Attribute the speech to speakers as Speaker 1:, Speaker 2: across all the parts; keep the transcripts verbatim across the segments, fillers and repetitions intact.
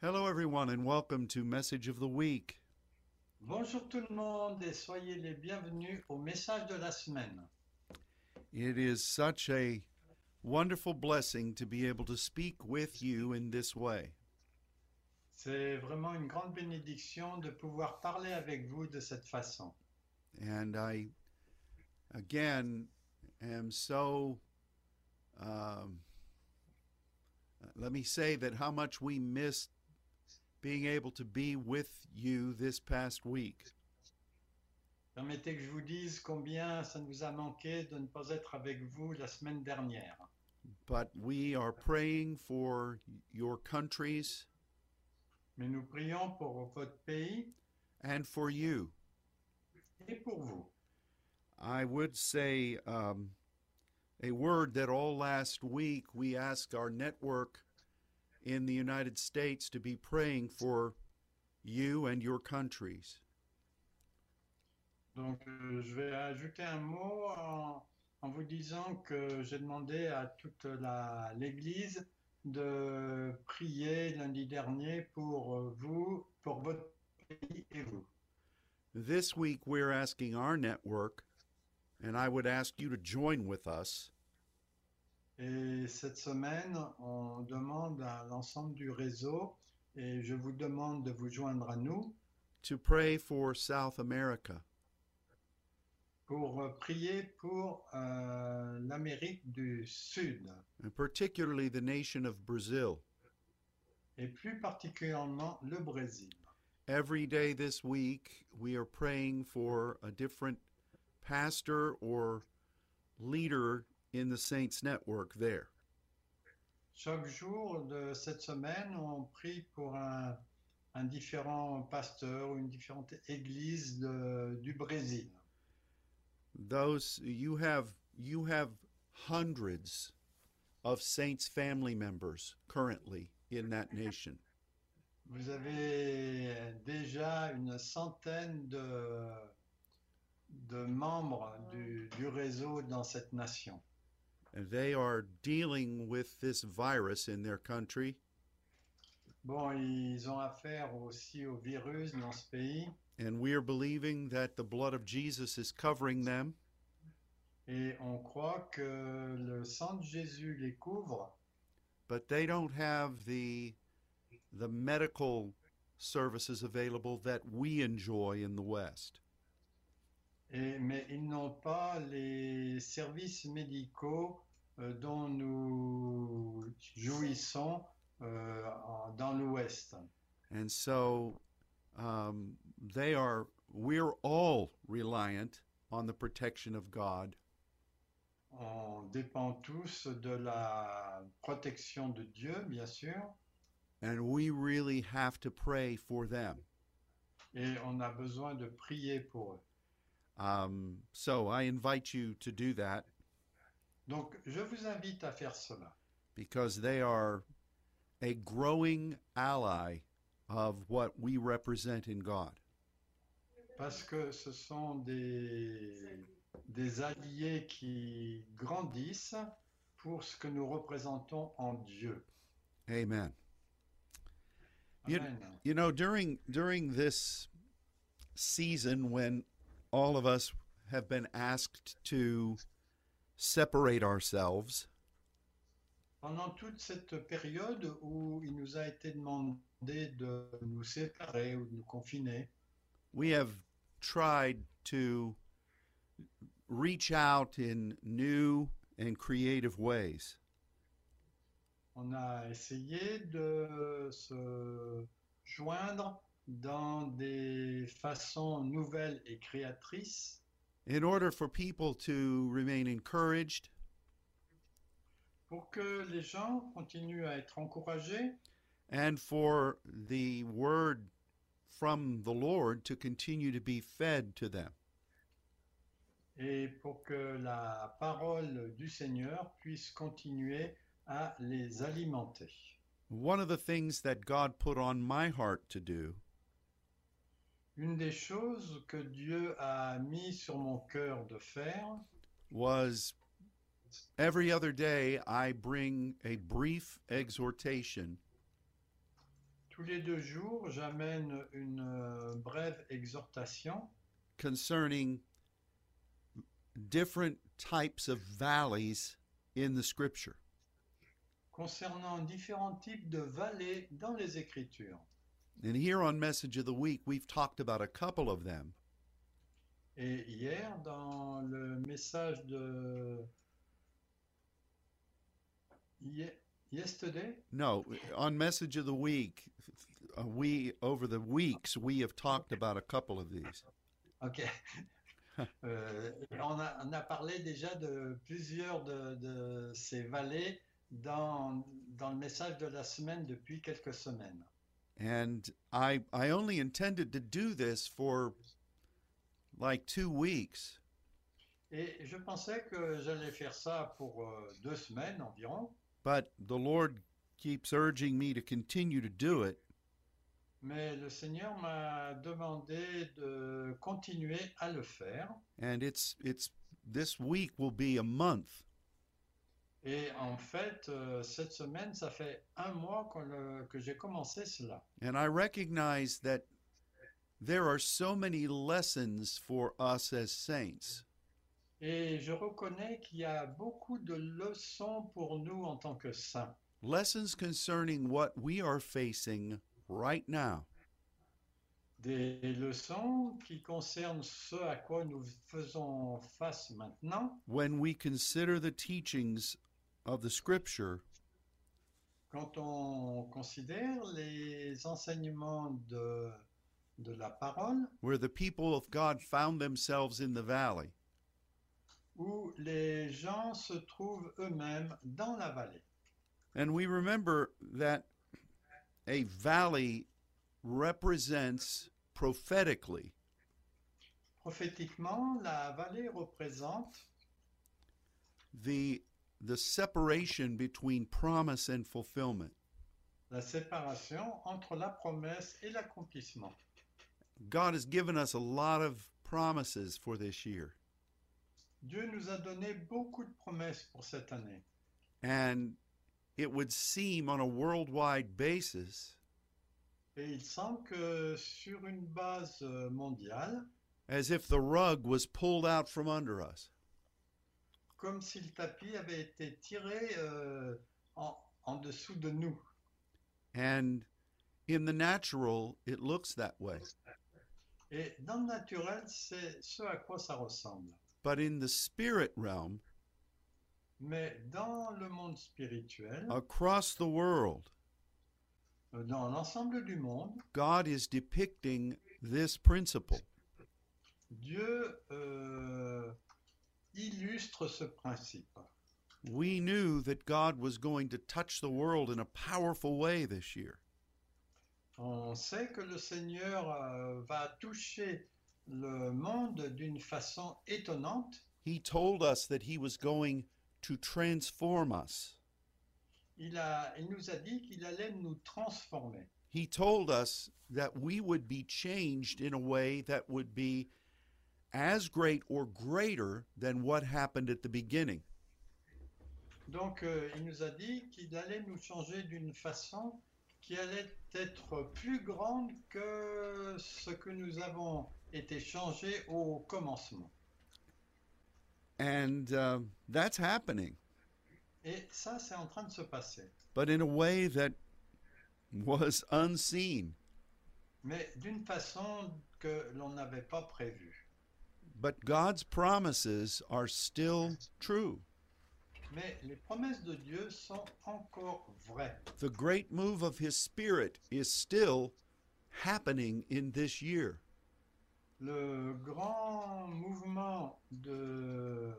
Speaker 1: Hello, everyone, and welcome to Message of the Week.
Speaker 2: Bonjour tout le monde et soyez les bienvenus au message de la semaine.
Speaker 1: It is such a wonderful blessing to be able to speak with you in this way.
Speaker 2: C'est vraiment une grande bénédiction de pouvoir parler avec vous de cette façon.
Speaker 1: And I, again, am so, um, let me say that how much we missed being able to be with you this past week.
Speaker 2: Permettez que je vous dise combien ça nous a manqué de ne pas être avec vous la semaine dernière.
Speaker 1: But we are praying for your countries
Speaker 2: Mais nous prions pour votre pays
Speaker 1: and for you.
Speaker 2: et pour vous.
Speaker 1: I would say um, a word that all last week we asked our network in the United States to be praying for you and your countries.
Speaker 2: Donc euh, je vais ajouter un mot en, en vous disant que j'ai demandé à toute la- l'Église de prier lundi dernier pour euh, vous, pour votre pays et vous.
Speaker 1: This week we're asking our network, and I would ask you to join with us,
Speaker 2: Et cette semaine, on demande à l'ensemble du réseau, et je vous demande de vous joindre à nous,
Speaker 1: to pray for South America.
Speaker 2: pour euh, prier pour euh, l'Amérique du Sud,
Speaker 1: And particularly the nation of Brazil.
Speaker 2: et plus particulièrement le Brésil.
Speaker 1: Every day this week, we are praying for a different pastor or leader in the Saints Network there.
Speaker 2: Chaque jour de cette semaine, on prie pour un, un différent pasteur ou une différente église de- du Brésil.
Speaker 1: Those you have you have hundreds of Saints family members currently in that nation.
Speaker 2: Vous avez déjà une centaine de, de membres du, du réseau dans cette nation.
Speaker 1: And they are dealing with this virus in their country,
Speaker 2: Bon, ils ont affaire aussi au virus dans ce pays
Speaker 1: and we are believing that the blood of Jesus is covering them,
Speaker 2: et on croit que le sang de Jésus les couvre,
Speaker 1: but they don't have the the medical services available that we enjoy in the West.
Speaker 2: et, mais ils n'ont pas les services médicaux euh, dont nous jouissons euh, en- dans l'Ouest.
Speaker 1: And so um, they are, we're all reliant on the protection of God.
Speaker 2: On dépend tous de la protection de Dieu, bien sûr,
Speaker 1: And we really have to pray for them.
Speaker 2: et on a besoin de prier pour eux.
Speaker 1: Um, so I invite you to do that
Speaker 2: Donc, je vous invite à faire cela,
Speaker 1: because they are a growing ally of what we represent in God.
Speaker 2: parce que ce sont des, des alliés qui grandissent pour ce que nous représentons en Dieu.
Speaker 1: Amen. You,
Speaker 2: Amen.
Speaker 1: you know, during during this season when all of us have been asked to separate ourselves,
Speaker 2: Pendant toute cette période où il nous a été demandé de nous séparer ou de nous confiner,
Speaker 1: we have tried to reach out in new and creative ways.
Speaker 2: on a essayé de se joindre dans des façons nouvelles et créatrices
Speaker 1: In order for people to remain encouraged
Speaker 2: pour que les gens continuent à être encouragés
Speaker 1: and for the word from the Lord to continue to be fed to them.
Speaker 2: et pour que la parole du Seigneur puisse continuer à les alimenter.
Speaker 1: One of the things that God put on my heart to do
Speaker 2: Une des choses que Dieu a mis sur mon cœur de faire,
Speaker 1: was every other day I bring a brief exhortation
Speaker 2: tous les deux jours, j'amène une euh, brève exhortation
Speaker 1: concerning different types of valleys in the scripture.
Speaker 2: concernant différents types de vallées dans les Écritures.
Speaker 1: And here on Message of the Week, we've talked about a couple of them.
Speaker 2: Et hier, dans le message de Ye- yesterday,
Speaker 1: No, on Message of the Week, uh, we over the weeks we have talked about a couple of these.
Speaker 2: ok, Euh, on a, on a parlé déjà de plusieurs de, de ces vallées dans, dans le message de la semaine depuis quelques semaines.
Speaker 1: And I I only intended to do this for like two weeks,
Speaker 2: Et je pensais que j'allais faire ça pour euh, deux semaines environ,
Speaker 1: but the Lord keeps urging me to continue to do it.
Speaker 2: mais le Seigneur m'a demandé de continuer à le faire.
Speaker 1: And it's it's this week will be a month.
Speaker 2: Et en fait, euh, cette semaine, ça fait un mois qu'on le- que j'ai commencé cela.
Speaker 1: And I recognize that there are so many lessons for us as saints.
Speaker 2: Et je reconnais qu'il y a beaucoup de leçons pour nous en tant que saints.
Speaker 1: Lessons concerning what we are facing right now.
Speaker 2: Des leçons qui concernent ce à quoi nous faisons face maintenant
Speaker 1: When we consider the teachings of the scripture
Speaker 2: quand on considère les enseignements de, de la parole
Speaker 1: where the people of God found themselves in the valley.
Speaker 2: où les gens se trouvent eux-mêmes dans la vallée.
Speaker 1: And we remember that a valley represents prophetically
Speaker 2: Prophétiquement, la vallée représente
Speaker 1: the the separation between promise and fulfillment.
Speaker 2: la séparation entre la promesse et l'accomplissement.
Speaker 1: God has given us a lot of promises for this year.
Speaker 2: Dieu nous a donné beaucoup de promesses pour cette année.
Speaker 1: And it would seem on a worldwide basis
Speaker 2: Et il semble que sur une base euh, mondiale,
Speaker 1: as if the rug was pulled out from under us.
Speaker 2: comme si le tapis avait été tiré euh, en, en dessous de nous.
Speaker 1: And in the natural, it looks that way.
Speaker 2: Et dans le naturel, c'est ce à quoi ça ressemble.
Speaker 1: But in the spirit realm,
Speaker 2: Mais dans le monde spirituel,
Speaker 1: across the world,
Speaker 2: euh, dans l'ensemble du monde,
Speaker 1: God is depicting this principle.
Speaker 2: Dieu euh, illustre ce principe.
Speaker 1: We knew that God was going to touch the world in a powerful way this year.
Speaker 2: On sait que le Seigneur euh, va toucher le monde d'une façon étonnante.
Speaker 1: He told us that he was going to transform us.
Speaker 2: Il, a, il nous a dit qu'il allait nous transformer.
Speaker 1: He told us that we would be changed in a way that would be as great or greater than what happened at the beginning.
Speaker 2: Donc, euh, il nous a dit qu'il allait nous changer d'une façon qui allait être plus grande que ce que nous avons été changés au commencement.
Speaker 1: And uh, that's happening,
Speaker 2: Et ça, c'est en train de se passer.
Speaker 1: but in a way that was unseen.
Speaker 2: Mais d'une façon que l'on n'avait pas prévue.
Speaker 1: But God's promises are still true.
Speaker 2: Mais les promesses de Dieu sont encore vraies.
Speaker 1: The great move of His Spirit is still happening in this year.
Speaker 2: Le grand mouvement de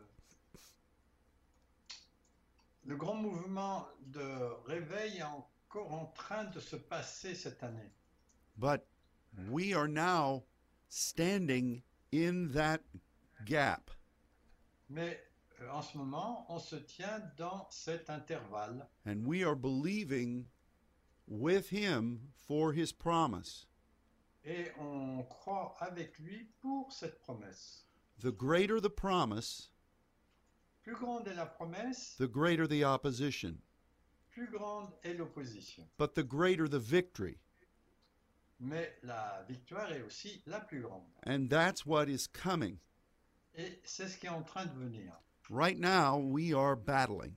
Speaker 2: le grand mouvement de réveil est encore en train de se passer cette année.
Speaker 1: But we are now standing in that gap.
Speaker 2: Mais euh, en ce moment, on se tient dans cet intervalle
Speaker 1: And we are believing with Him for His promise.
Speaker 2: et on croit avec lui pour cette promesse.
Speaker 1: The greater the promise,
Speaker 2: Plus grande est la promesse,
Speaker 1: the greater the opposition.
Speaker 2: plus grande est l'opposition.
Speaker 1: But the greater the victory.
Speaker 2: mais la victoire est aussi la plus grande.
Speaker 1: And that's what is coming.
Speaker 2: Et c'est ce qui est en train de venir.
Speaker 1: Right now, we are battling.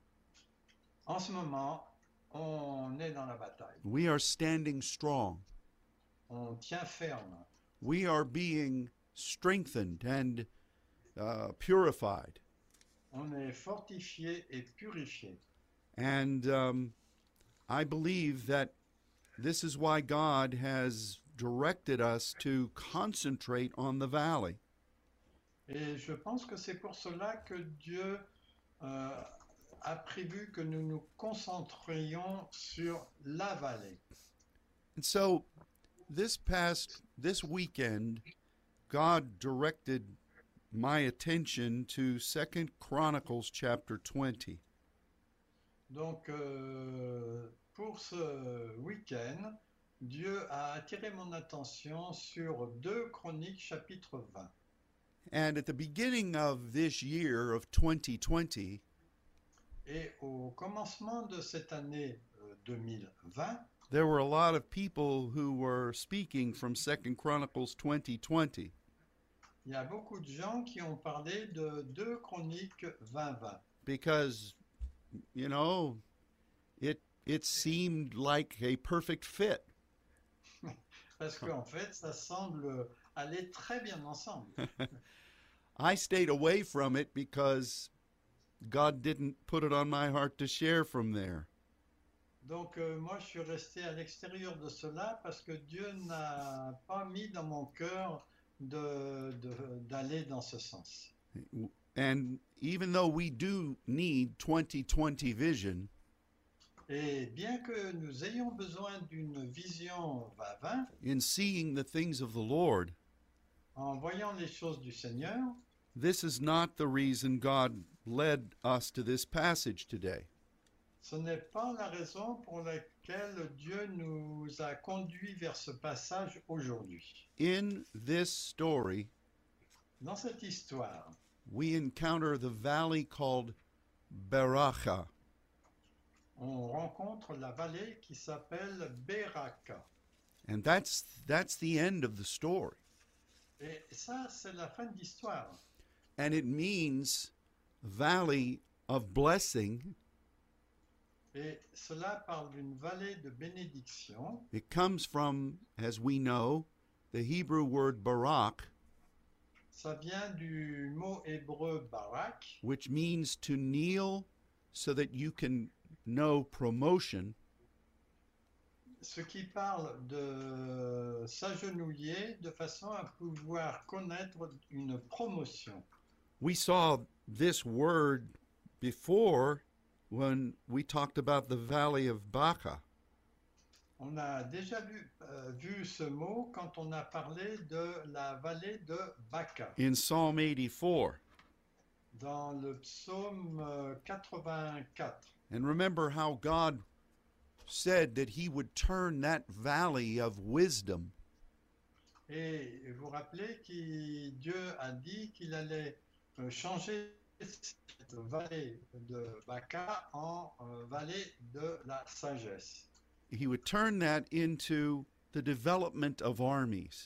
Speaker 2: En ce moment, on est dans la bataille.
Speaker 1: We are standing strong.
Speaker 2: On tient ferme.
Speaker 1: We are being strengthened and uh, purified.
Speaker 2: On est fortifié et purifié.
Speaker 1: And um, I believe that this is why God has directed us to concentrate on the valley.
Speaker 2: Et je pense que c'est pour cela que Dieu euh, a prévu que nous nous concentrions sur la vallée.
Speaker 1: And so this past, this weekend, God directed my attention to Second Chronicles chapter twenty.
Speaker 2: Donc, euh, pour ce week-end, Dieu a attiré mon attention sur deux Chroniques chapitre vingt.
Speaker 1: And at the beginning of this year of twenty twenty,
Speaker 2: Et au commencement de cette année euh, deux mille vingt,
Speaker 1: there were a lot of people who were speaking from Second Chronicles twenty twenty.
Speaker 2: il y a beaucoup de gens qui ont parlé de deux Chroniques vingt vingt.
Speaker 1: Because, you know, it it seemed like a perfect fit.
Speaker 2: Parce qu'en fait, ça semble aller très bien ensemble.
Speaker 1: I stayed away from it because God didn't put it on my heart to share from there.
Speaker 2: Donc euh, moi, je suis resté à l'extérieur de cela parce que Dieu n'a pas mis dans mon cœur de, de- d'aller dans ce sens.
Speaker 1: And even though we do need twenty twenty vision,
Speaker 2: Et bien que nous ayons besoin d'une vision vingt vingt,
Speaker 1: in seeing the things of the Lord,
Speaker 2: en voyant les choses du Seigneur,
Speaker 1: this is not the reason God led us to this passage today.
Speaker 2: ce n'est pas la raison pour laquelle Dieu nous a conduits vers ce passage aujourd'hui.
Speaker 1: In this story,
Speaker 2: Dans cette histoire,
Speaker 1: we encounter the valley called Beracha.
Speaker 2: on rencontre la vallée qui s'appelle Beraka.
Speaker 1: And that's that's the end of the story.
Speaker 2: Et ça, c'est la fin de l'histoire.
Speaker 1: And it means valley of blessing.
Speaker 2: Et cela parle d'une vallée de bénédiction.
Speaker 1: It comes from, as we know, the Hebrew word barak,
Speaker 2: Ça vient du mot hébreu barak,
Speaker 1: which means to kneel so that you can know promotion.
Speaker 2: ce qui parle de s'agenouiller de façon à pouvoir connaître une promotion.
Speaker 1: We saw this word before when we talked about the valley of Baca.
Speaker 2: On a déjà vu, euh, vu ce mot quand on a parlé de la vallée de Baca,
Speaker 1: In Psalm eighty-four.
Speaker 2: dans le psaume euh, quatre-vingt-quatre.
Speaker 1: And remember how God said that he would turn that valley of wisdom
Speaker 2: Et vous vous rappelez que Dieu a dit qu'il allait euh, changer cette vallée de Baca en euh, vallée de la sagesse.
Speaker 1: he would turn that into the development of armies.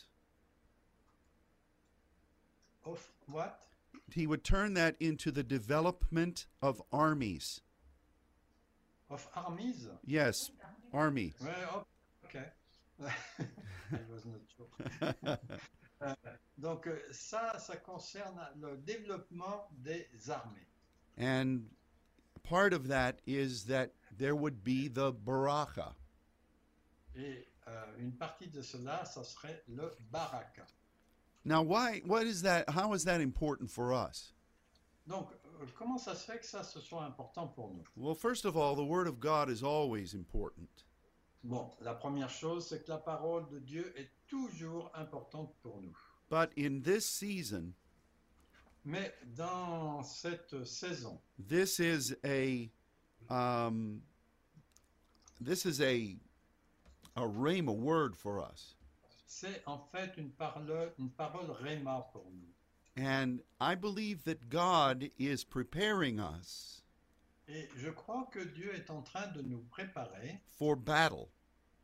Speaker 2: Of what?
Speaker 1: He would turn that into the development of armies.
Speaker 2: Of armies?
Speaker 1: Yes, army.
Speaker 2: Ouais, oh, ok. I was not sure. Euh, Donc euh, ça, ça concerne le développement des armées.
Speaker 1: And part of that is that there would be the baraka.
Speaker 2: Et euh, une partie de cela, ça serait le baraka.
Speaker 1: Now, why? What is that? How is that important for us?
Speaker 2: Donc, euh, comment ça se fait que ça, ce soit important pour nous?
Speaker 1: Well, first of all, the Word of God is always important.
Speaker 2: Bon, la première chose, c'est que la parole de Dieu est toujours importante pour nous.
Speaker 1: But in this season,
Speaker 2: Mais dans cette saison,
Speaker 1: this is a um, this is a a rhema word for us.
Speaker 2: c'est en fait une parole, une parole réma pour nous.
Speaker 1: And I believe that God is preparing us
Speaker 2: Et je crois que Dieu est en train de nous préparer
Speaker 1: for battle.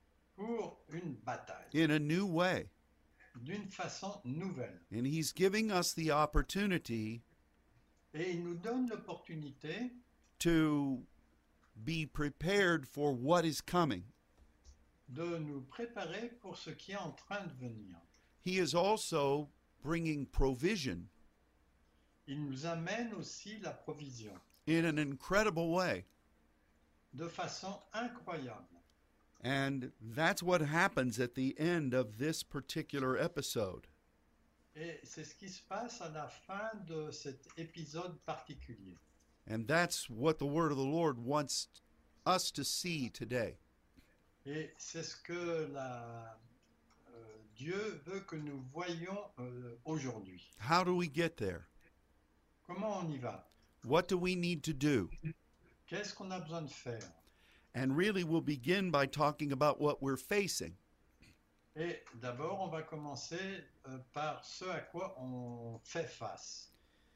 Speaker 2: pour une bataille,
Speaker 1: in a new way.
Speaker 2: d'une façon nouvelle.
Speaker 1: And he's giving us the opportunity
Speaker 2: Et il nous donne l'opportunité
Speaker 1: to be prepared for what is coming.
Speaker 2: de nous préparer pour ce qui est en train de venir.
Speaker 1: He is also bringing provision
Speaker 2: Il nous amène aussi la provision
Speaker 1: in an incredible way.
Speaker 2: de façon incroyable.
Speaker 1: And that's what happens at the end of this particular episode.
Speaker 2: Et c'est ce qui se passe à la fin de cet épisode particulier.
Speaker 1: And that's what the word of the Lord wants us to see today.
Speaker 2: Et c'est ce que la, euh, Dieu veut que nous voyions euh, aujourd'hui.
Speaker 1: How do we get there?
Speaker 2: Comment on y va?
Speaker 1: What do we need to do?
Speaker 2: Qu'est-ce qu'on a besoin de faire?
Speaker 1: And really, we'll begin by talking about what we're facing.
Speaker 2: Et d'abord, on va commencer euh, par ce à quoi on fait face.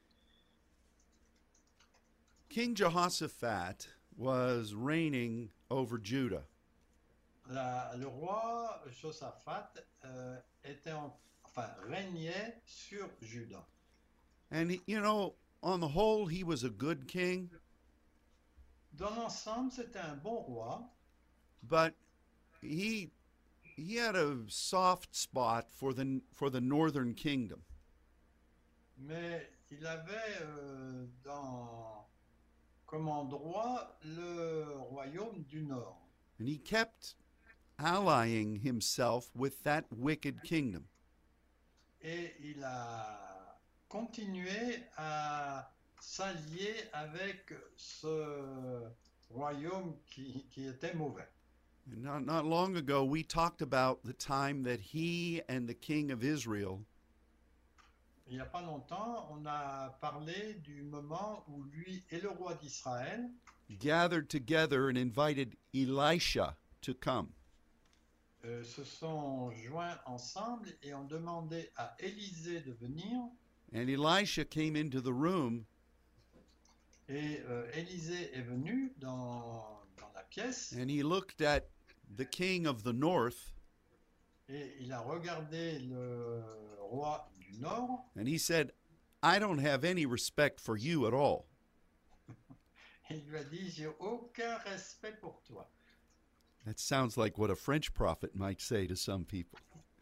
Speaker 1: King Jehoshaphat was reigning over Judah.
Speaker 2: La- le roi Josaphat euh, était en- enfin, régnait sur Juda.
Speaker 1: And, he- you know, on the whole, he was a good king,
Speaker 2: Dans l'ensemble, c'était un bon roi,
Speaker 1: but he he had a soft spot for the for the northern kingdom.
Speaker 2: mais il avait euh, dans, comme endroit le royaume du Nord.
Speaker 1: And he kept allying himself with that wicked kingdom.
Speaker 2: Et il a continué à s'allier avec ce royaume qui, qui était mauvais.
Speaker 1: And not, not long ago, we talked about the time that he and the king of Israel
Speaker 2: Il n'y a pas longtemps, on a parlé du moment où lui et le roi d'Israël
Speaker 1: gathered together and invited Elisha to come.
Speaker 2: euh, se sont joints ensemble et ont demandé à Élisée de venir.
Speaker 1: And Elisha came into the room
Speaker 2: Et euh, Élisée est venu dans, dans la pièce
Speaker 1: and he looked at the king of the north
Speaker 2: et il a regardé le roi du Nord
Speaker 1: and he said, I don't have any respect for you at all.
Speaker 2: et il lui a dit, j'ai aucun respect pour toi.
Speaker 1: That sounds like what a French prophet might say to some people.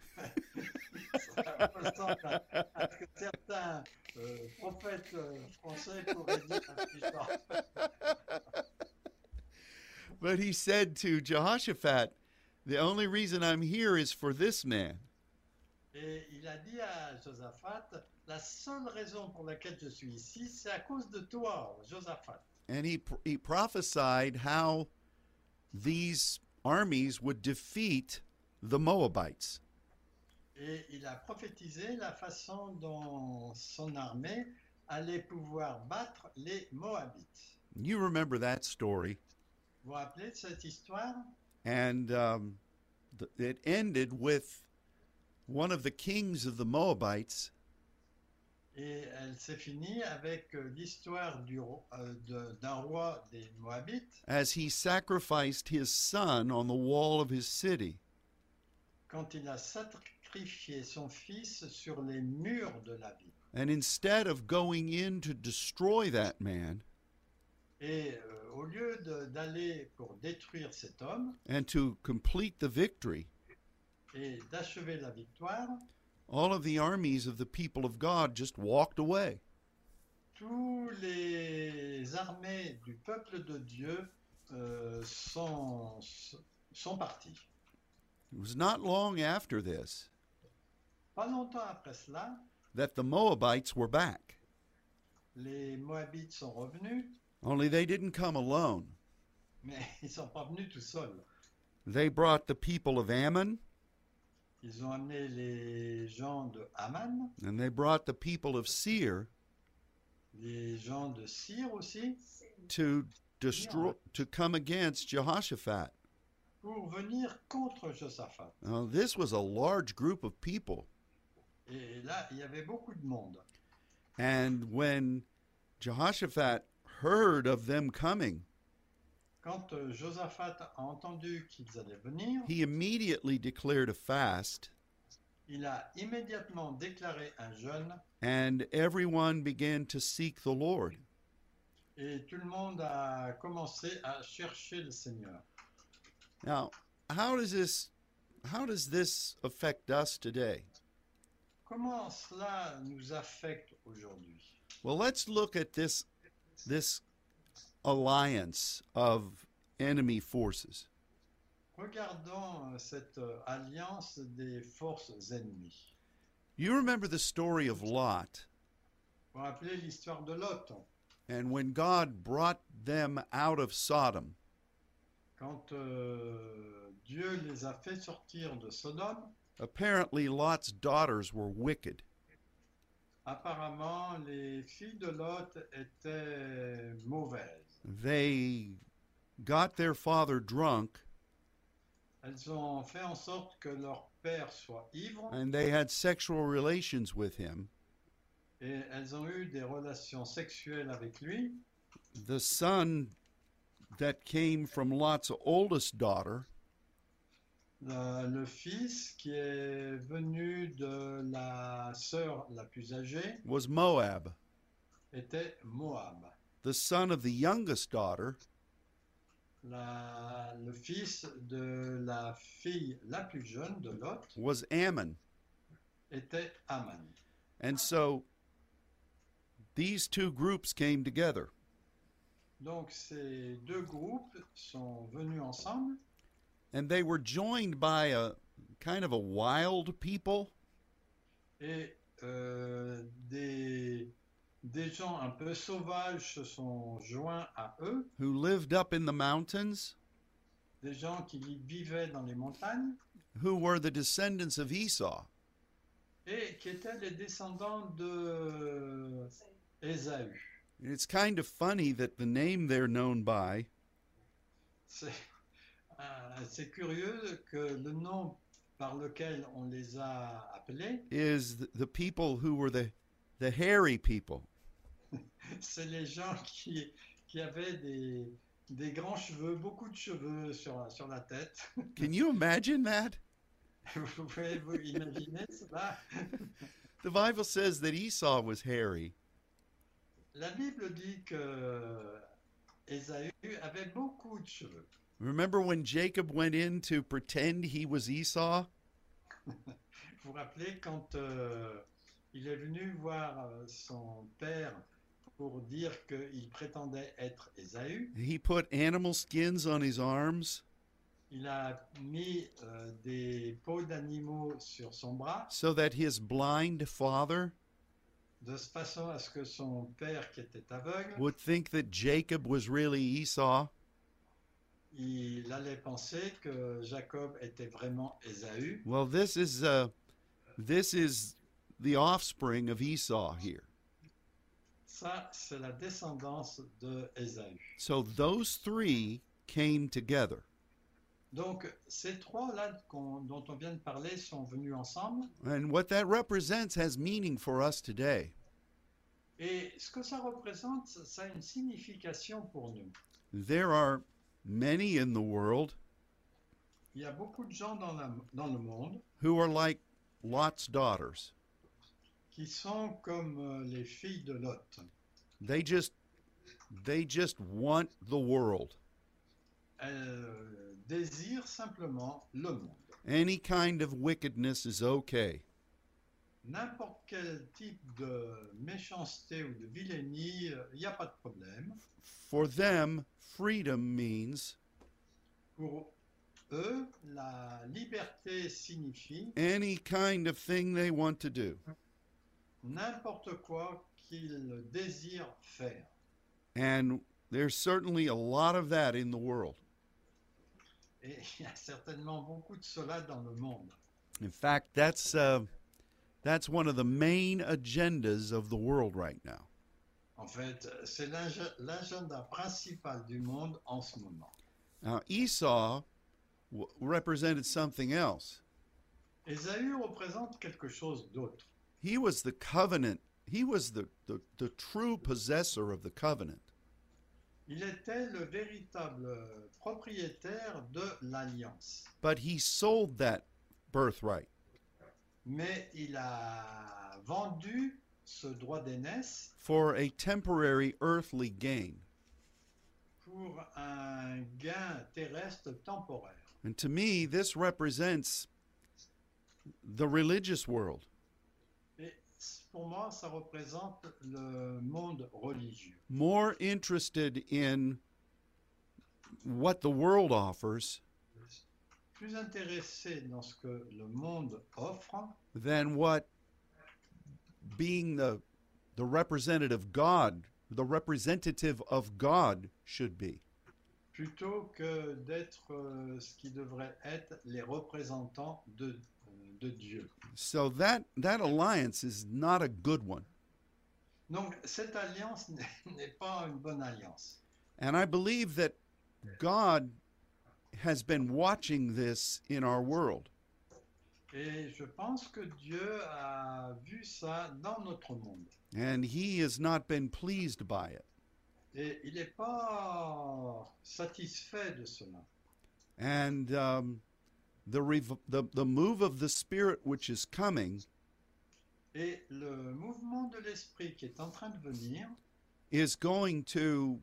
Speaker 2: Ça ressemble à, à ce que certains euh, prophètes euh, français pourraient dire un petit genre.
Speaker 1: But he said to Jehoshaphat, the only reason I'm here is for this man.
Speaker 2: Et il a dit à Josaphat, la seule raison pour laquelle je suis ici, c'est à cause de toi, Josaphat.
Speaker 1: And he, he prophesied how these armies would defeat the Moabites.
Speaker 2: Et il a prophétisé la façon dont son armée allait pouvoir battre les Moabites.
Speaker 1: You remember that story.
Speaker 2: Vous vous rappelez de cette histoire?
Speaker 1: And um, th- it ended with one of the kings of the Moabites
Speaker 2: Et elle s'est finie avec euh, l'histoire du ro- euh, de- d'un roi des Moabites
Speaker 1: as he sacrificed his son on the wall of his city.
Speaker 2: quand il a sacrifié son fils sur les murs de la ville.
Speaker 1: And instead of going in to destroy that man
Speaker 2: Et euh, au lieu de- d'aller pour détruire cet homme
Speaker 1: and to complete the victory,
Speaker 2: et d'achever la victoire,
Speaker 1: all of the armies of the people of God just walked away.
Speaker 2: tous les armées du peuple de Dieu euh, sont, sont partis.
Speaker 1: It was not long after this
Speaker 2: Pas longtemps après cela,
Speaker 1: that the Moabites were back.
Speaker 2: les Moabites sont revenus,
Speaker 1: Only they didn't come alone.
Speaker 2: mais ils ne sont pas venus tout seuls.
Speaker 1: They brought the people of Ammon,
Speaker 2: Ils ont amené les gens de Haman,
Speaker 1: and they brought the people of Seir
Speaker 2: les gens de Syr aussi,
Speaker 1: to destroy to come against Jehoshaphat.
Speaker 2: pour venir contre Josaphat.
Speaker 1: Now, this was a large group of people.
Speaker 2: Et là, il y avait beaucoup de monde.
Speaker 1: And when Jehoshaphat heard of them coming,
Speaker 2: quand euh, Josaphat a entendu qu'ils allaient venir,
Speaker 1: he immediately declared a fast,
Speaker 2: il a immédiatement déclaré un jeûne
Speaker 1: and everyone began to seek the Lord.
Speaker 2: et tout le monde a commencé à chercher le Seigneur.
Speaker 1: Now, how does this how does this affect us today?
Speaker 2: Comment cela nous affecte aujourd'hui?
Speaker 1: Well, let's look at this this alliance of enemy forces.
Speaker 2: Regardons euh, cette euh, alliance des forces ennemies.
Speaker 1: You remember the story of Lot,
Speaker 2: Vous vous rappelez l'histoire de Lot,
Speaker 1: and when God brought them out of Sodom,
Speaker 2: quand euh, Dieu les a fait sortir de Sodome.
Speaker 1: apparently Lot's daughters were wicked.
Speaker 2: Apparemment, les filles de Lot étaient mauvaises.
Speaker 1: They got their father drunk,
Speaker 2: Elles ont fait en sorte que leur père soit ivre
Speaker 1: and they had sexual relations with him.
Speaker 2: et elles ont eu des relations sexuelles avec lui.
Speaker 1: The son that came from Lot's oldest daughter
Speaker 2: Le, le fils qui est venu de la sœur la plus âgée
Speaker 1: was Moab.
Speaker 2: était Moab.
Speaker 1: The son of the youngest daughter
Speaker 2: La- le fils de la fille la plus jeune de Lot
Speaker 1: was Ammon.
Speaker 2: était Aman.
Speaker 1: And so these two groups came together.
Speaker 2: Donc ces deux groupes sont venus ensemble
Speaker 1: And they were joined by a kind of a wild people
Speaker 2: et euh, des, des gens un peu sauvages se sont joints à eux,
Speaker 1: who lived up in the mountains,
Speaker 2: des gens qui vivaient dans les montagnes
Speaker 1: who were the descendants of Esau.
Speaker 2: et qui étaient les descendants de Ésaü.
Speaker 1: And it's kind of funny that the name they're known by
Speaker 2: C'est euh, c'est curieux que le nom par lequel on les a appelés,
Speaker 1: is th- the people who were the, the hairy people.
Speaker 2: c'est les gens qui, qui avaient des, des grands cheveux, beaucoup de cheveux sur, sur la tête.
Speaker 1: Can you imagine that?
Speaker 2: Vous pouvez vous imaginer cela?
Speaker 1: The Bible says that Esau was hairy.
Speaker 2: La Bible dit que Ésaü avait beaucoup de cheveux.
Speaker 1: Remember when Jacob went in to pretend he was Esau?
Speaker 2: Vous vous rappelez quand euh, il est venu voir euh, son père pour dire qu'il prétendait être Ésaü,
Speaker 1: He put animal skins on his arms
Speaker 2: il a mis euh, des peaux d'animaux sur son bras
Speaker 1: so that his blind father
Speaker 2: de façon à ce que son père qui était aveugle,
Speaker 1: would think that Jacob was really Esau.
Speaker 2: il allait penser que Jacob était vraiment Ésaü.
Speaker 1: Well, this is uh, this is the offspring of Esau here.
Speaker 2: Ça, c'est la descendance de Ésaü.
Speaker 1: So those three came together.
Speaker 2: Donc, ces trois-là qu'on- dont on vient de parler sont venus ensemble.
Speaker 1: And what that represents has meaning for us today.
Speaker 2: Et ce que ça représente, ça a une signification pour nous.
Speaker 1: There are many in the world
Speaker 2: Il y a beaucoup de gens dans, la- dans le monde
Speaker 1: who are like Lot's daughters.
Speaker 2: qui sont comme euh, les filles de Lot.
Speaker 1: They just they just want the world.
Speaker 2: Elles euh, désirent simplement le monde.
Speaker 1: Any kind of wickedness is okay.
Speaker 2: N'importe quel type de méchanceté ou de vilainie, euh, il n'y a pas de problème.
Speaker 1: For them, freedom means
Speaker 2: Pour eux, la liberté signifie
Speaker 1: any kind of thing they want to do.
Speaker 2: n'importe quoi qu'ils désirent faire.
Speaker 1: And there's certainly a lot of that in the world.
Speaker 2: Et il y a certainement beaucoup de cela dans le monde.
Speaker 1: In fact, that's uh, that's one of the main agendas of the world right now.
Speaker 2: En fait, c'est l'ag- l'agenda principal du monde en ce moment.
Speaker 1: Now, Esau w- represented something else.
Speaker 2: Ésaü représente quelque chose d'autre.
Speaker 1: He was the covenant. He was the, the, the true possessor of the covenant.
Speaker 2: Il était le véritable propriétaire de l'alliance.
Speaker 1: but he sold that birthright.
Speaker 2: Mais il a vendu ce droit d'aînesse
Speaker 1: For a temporary earthly gain.
Speaker 2: pour un gain terrestre temporaire.
Speaker 1: And to me, this represents the religious world.
Speaker 2: Et pour moi, ça représente le monde religieux.
Speaker 1: More interested in what the world offers
Speaker 2: Plus intéressé dans ce que le monde offre
Speaker 1: than what being the, the representative God, the representative of God should be.
Speaker 2: plutôt que d'être euh, ce qui devrait être les représentants de, euh, de Dieu.
Speaker 1: So that, that alliance is not a good one.
Speaker 2: Donc cette alliance n'est n'est pas une bonne alliance.
Speaker 1: And I believe that God has been watching this in our world.
Speaker 2: Et je pense que Dieu a vu ça dans notre monde.
Speaker 1: And he has not been pleased by it.
Speaker 2: Et il n'est pas satisfait de cela.
Speaker 1: And um, the, rev- the, the move of the Spirit which is coming
Speaker 2: Et le mouvement de l'esprit qui est en train de venir
Speaker 1: is going to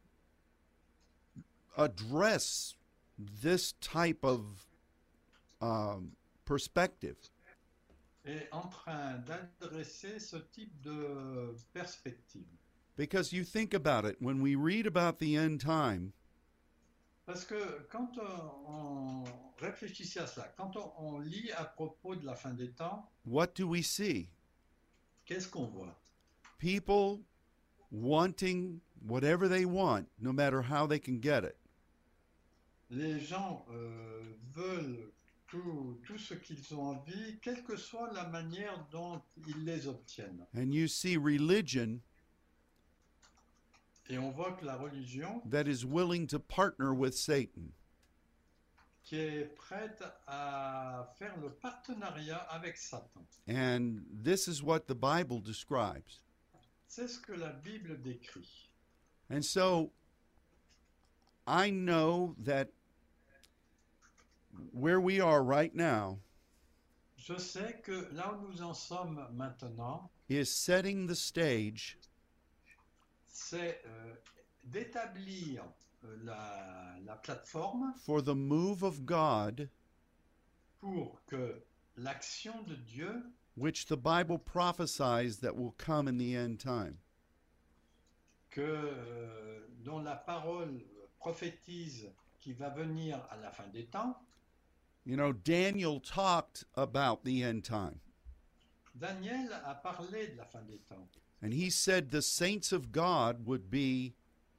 Speaker 1: address this type of um, perspective.
Speaker 2: est en train d'adresser ce type de perspective.
Speaker 1: Because you think about it, when we read about the end time,
Speaker 2: Parce que quand on, on réfléchit à cela, quand on, on lit à propos de la fin des temps,
Speaker 1: what do we see?
Speaker 2: qu'est-ce qu'on voit?
Speaker 1: People wanting whatever they want, no matter how they can get it.
Speaker 2: Les gens euh, veulent tout, tout ce qu'ils ont envie, quelle que soit la manière dont ils les obtiennent.
Speaker 1: And you see religion
Speaker 2: Et on voit que la religion,
Speaker 1: that is willing to partner with Satan.
Speaker 2: qui est prête à faire le partenariat avec Satan.
Speaker 1: And this is what the Bible describes.
Speaker 2: C'est ce que la Bible décrit.
Speaker 1: And so I know that where we are right now
Speaker 2: Je sais que là où nous en sommes maintenant,
Speaker 1: is setting the stage
Speaker 2: c'est euh, d'établir euh, la, la plateforme
Speaker 1: for the move of God,
Speaker 2: pour que l'action de Dieu,
Speaker 1: which the Bible prophesies that will come in the end time.
Speaker 2: que, euh, dont la parole prophétise qui va venir à la fin des temps.
Speaker 1: You know, Daniel talked about the end time.
Speaker 2: Daniel a parlé de la fin des temps.
Speaker 1: And he said the saints of God would be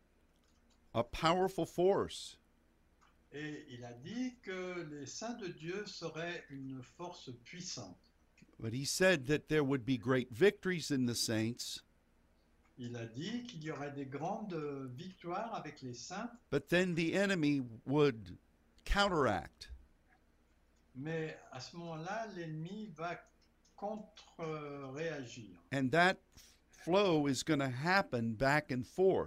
Speaker 1: a powerful force.
Speaker 2: Et il a dit que les saints de Dieu seraient une force puissante.
Speaker 1: But he said that there would be great victories in the saints,
Speaker 2: Il a dit qu'il y aurait des grandes victoires avec les saints,
Speaker 1: but then the enemy would counteract.
Speaker 2: mais à ce moment-là, l'ennemi va contre-réagir.
Speaker 1: And that flow is going to happen back and forth.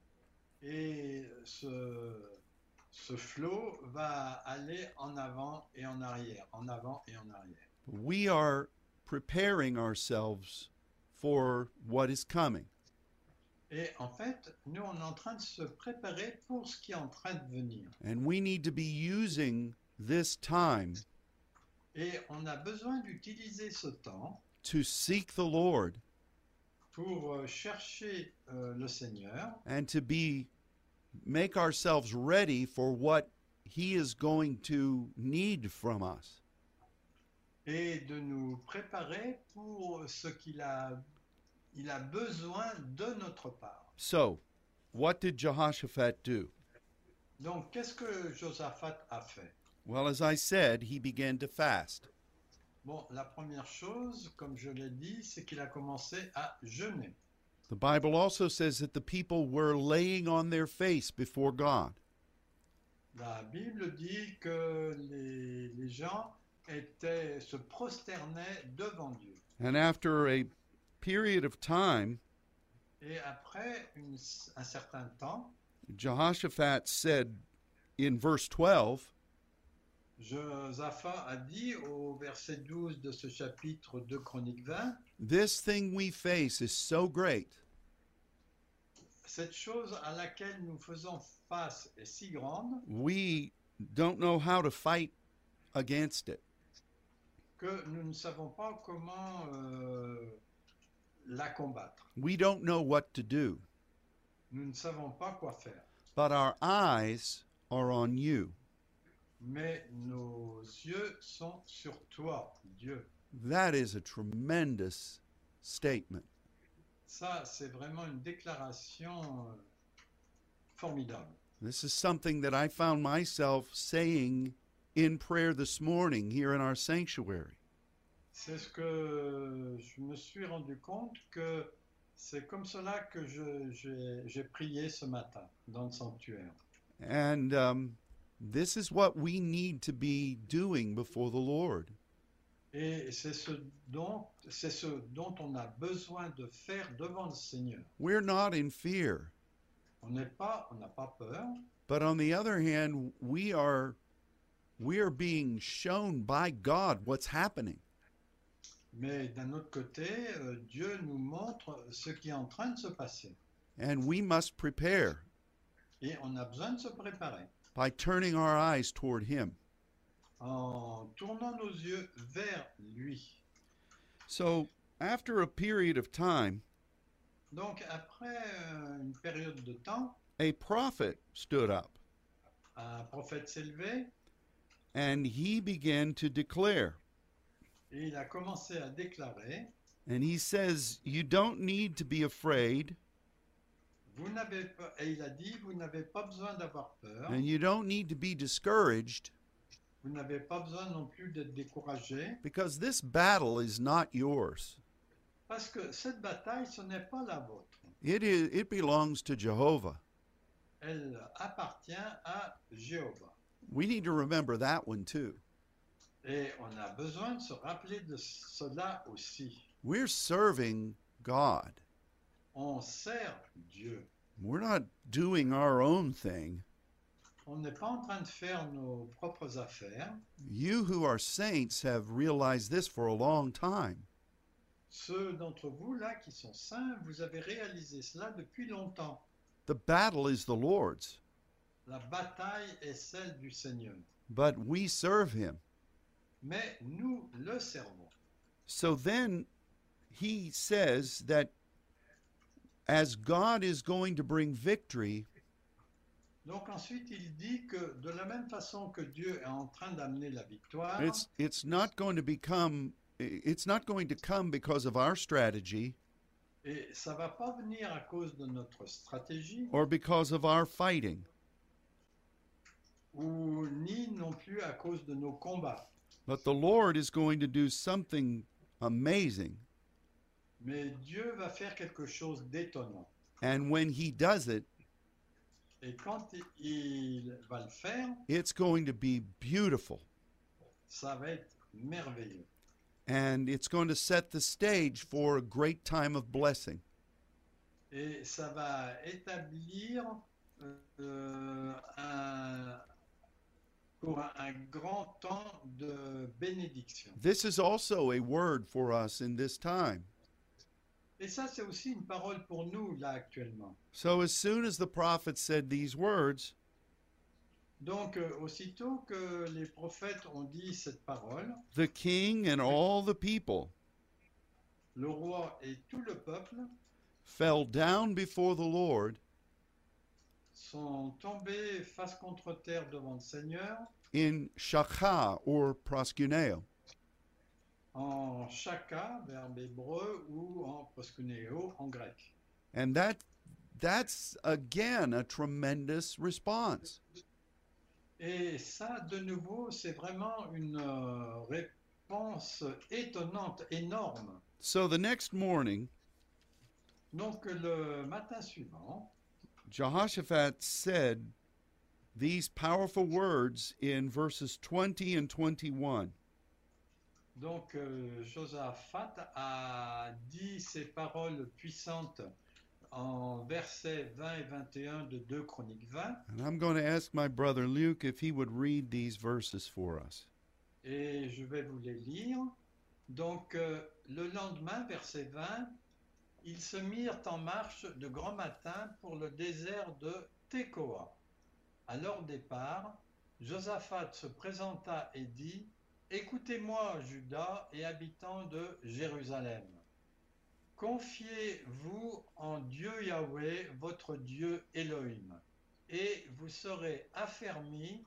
Speaker 2: Et ce, ce flot va aller en avant et en arrière, en avant et en arrière.
Speaker 1: We are preparing ourselves for what is coming.
Speaker 2: Et en fait, nous, on est en train de se préparer pour ce qui est en train de venir.
Speaker 1: And we need to be using this time
Speaker 2: Et on a besoin d'utiliser ce temps
Speaker 1: to seek the Lord
Speaker 2: pour euh, chercher euh, le Seigneur
Speaker 1: and to be make ourselves ready for what he is going to need from us.
Speaker 2: et de nous préparer pour ce qu'il a, il a besoin de notre part.
Speaker 1: So, what did Jehoshaphat do?
Speaker 2: Donc, qu'est-ce que Josaphat a fait?
Speaker 1: Well, as I said, he began to fast.
Speaker 2: Bon, la première chose, comme je l'ai dit, c'est qu'il a commencé à jeûner.
Speaker 1: The Bible also says that the people were laying on their face before God.
Speaker 2: La Bible dit que les, les gens étaient, se prosternaient devant Dieu.
Speaker 1: And after a period of time,
Speaker 2: Et après une- un certain temps,
Speaker 1: Jehoshaphat said in verse twelve,
Speaker 2: Josaphat a dit au verset douze de ce chapitre deux Chroniques vingt,
Speaker 1: "This thing we face is so great
Speaker 2: cette chose à laquelle nous faisons face est si grande
Speaker 1: we don't know how to fight against it."
Speaker 2: que nous ne savons pas comment euh, la combattre.
Speaker 1: We don't know what to do,
Speaker 2: Nous ne savons pas quoi faire.
Speaker 1: but our eyes are on you.
Speaker 2: Mais nos yeux sont sur toi, Dieu.
Speaker 1: That is a tremendous statement.
Speaker 2: Ça, c'est vraiment une déclaration euh, formidable.
Speaker 1: This is something that I found myself saying in prayer this morning here in our sanctuary.
Speaker 2: C'est ce que je me suis rendu compte que c'est comme cela que je- j'ai j'ai prié ce matin dans le sanctuaire.
Speaker 1: And um, this is what we need to be doing before the Lord.
Speaker 2: Et c'est ce dont, c'est ce dont on a besoin de faire devant le Seigneur.
Speaker 1: We're not in fear,
Speaker 2: On n'est pas, on n'a pas peur,
Speaker 1: but on the other hand, we are we are being shown by God what's happening.
Speaker 2: mais d'un autre côté, euh, Dieu nous montre ce qui est en train de se passer.
Speaker 1: And we must prepare
Speaker 2: Et on a besoin de se préparer
Speaker 1: by turning our eyes toward Him.
Speaker 2: en tournant nos yeux vers lui.
Speaker 1: So, after a period of time,
Speaker 2: Donc après euh, une période de temps,
Speaker 1: a prophet stood up
Speaker 2: un prophète s'est levé
Speaker 1: and he began to declare.
Speaker 2: et il a commencé à déclarer,
Speaker 1: And he says, "You don't need to be afraid,
Speaker 2: vous n'avez pas, et il a dit, vous n'avez pas besoin d'avoir peur,
Speaker 1: and you don't need to be discouraged,
Speaker 2: vous n'avez pas besoin non plus d'être découragé,
Speaker 1: because this battle is not yours.
Speaker 2: parce que cette bataille, ce n'est pas la vôtre.
Speaker 1: It is it belongs to Jehovah."
Speaker 2: Elle appartient à Jéhovah.
Speaker 1: We need to remember that one too.
Speaker 2: Et on a besoin de se rappeler de cela aussi.
Speaker 1: We're serving God.
Speaker 2: On sert Dieu.
Speaker 1: We're not doing our own thing.
Speaker 2: On n'est pas en train de faire nos propres affaires.
Speaker 1: You who are saints have realized this for a long time.
Speaker 2: Ceux d'entre vous là qui sont saints, vous avez réalisé cela depuis longtemps.
Speaker 1: The battle is the Lord's,
Speaker 2: La bataille est celle du Seigneur.
Speaker 1: but we serve Him.
Speaker 2: Mais nous le servons.
Speaker 1: So then he says that as God is going to bring victory,
Speaker 2: Donc ensuite, il dit que de la même façon que Dieu est en train d'amener la victoire,
Speaker 1: it's it's not going to become it's not going to come because of our strategy
Speaker 2: et ça va pas venir à cause de notre stratégie,
Speaker 1: or because of our fighting,
Speaker 2: ou ni non plus à cause de nos combats.
Speaker 1: but the Lord is going to do something amazing.
Speaker 2: Mais Dieu va faire quelque chose d'étonnant.
Speaker 1: And when he does it,
Speaker 2: Et quand il va le faire,
Speaker 1: it's going to be beautiful.
Speaker 2: ça va être merveilleux.
Speaker 1: And it's going to set the stage for a great time of blessing.
Speaker 2: Et ça va établir euh, un, pour un, un grand temps de bénédiction.
Speaker 1: This is also a word for us in this time.
Speaker 2: Et ça, c'est aussi une parole pour nous, là, actuellement.
Speaker 1: So as soon as the prophet said these words,
Speaker 2: Donc, euh, aussitôt que les prophètes ont dit cette parole,
Speaker 1: the king and all the people
Speaker 2: le roi et tout le peuple
Speaker 1: fell down before the Lord
Speaker 2: sont tombés face contre terre devant le Seigneur
Speaker 1: in shakha or proskuneo.
Speaker 2: en shaka, verbe hébreu, ou en proskuneo, en grec.
Speaker 1: And that that's again a tremendous response.
Speaker 2: Et ça, de nouveau, c'est vraiment une euh, réponse étonnante, énorme.
Speaker 1: So the next morning,
Speaker 2: Donc, le matin suivant,
Speaker 1: Jehoshaphat said these powerful words in verses twenty and twenty-one.
Speaker 2: donc euh, Josaphat a dit ces paroles puissantes en versets vingt et vingt et un de deux Chroniques vingt.
Speaker 1: And I'm going to ask my brother Luke if he would read these verses for us.
Speaker 2: Et je vais vous les lire. Donc, euh, le lendemain, verset vingt, ils se mirent en marche de grand matin pour le désert de Tekoa. À leur départ, Josaphat se présenta et dit, « Écoutez-moi, Juda et habitants de Jérusalem. Confiez-vous en Dieu Yahweh, votre Dieu Elohim, et vous serez affermis.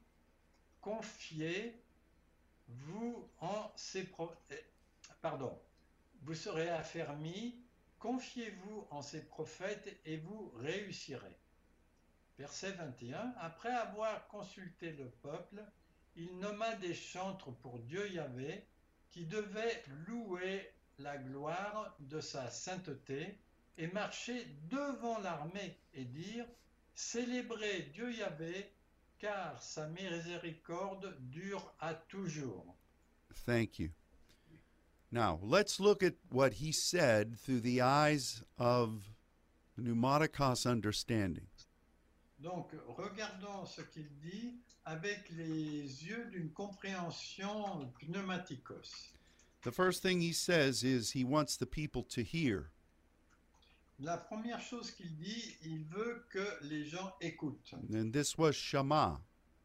Speaker 2: Confiez-vous en ses pro- pardon, vous serez affermis. Confiez-vous en ses prophètes et vous réussirez. » Verset vingt et un. Après avoir consulté le peuple, il nomma des chantres pour Dieu Yahvé qui devaient louer la gloire de sa sainteté et marcher devant l'armée et dire « Célébrez Dieu Yahvé, car sa miséricorde dure à toujours. »
Speaker 1: Thank you. Now, let's look at what he said through the eyes of pneumaticos understanding.
Speaker 2: Donc, regardons ce qu'il dit avec les yeux d'une compréhension pneumatikos.
Speaker 1: The first thing he says is he wants the people to hear.
Speaker 2: La première chose qu'il dit, il veut que les gens écoutent.
Speaker 1: And this was Shema.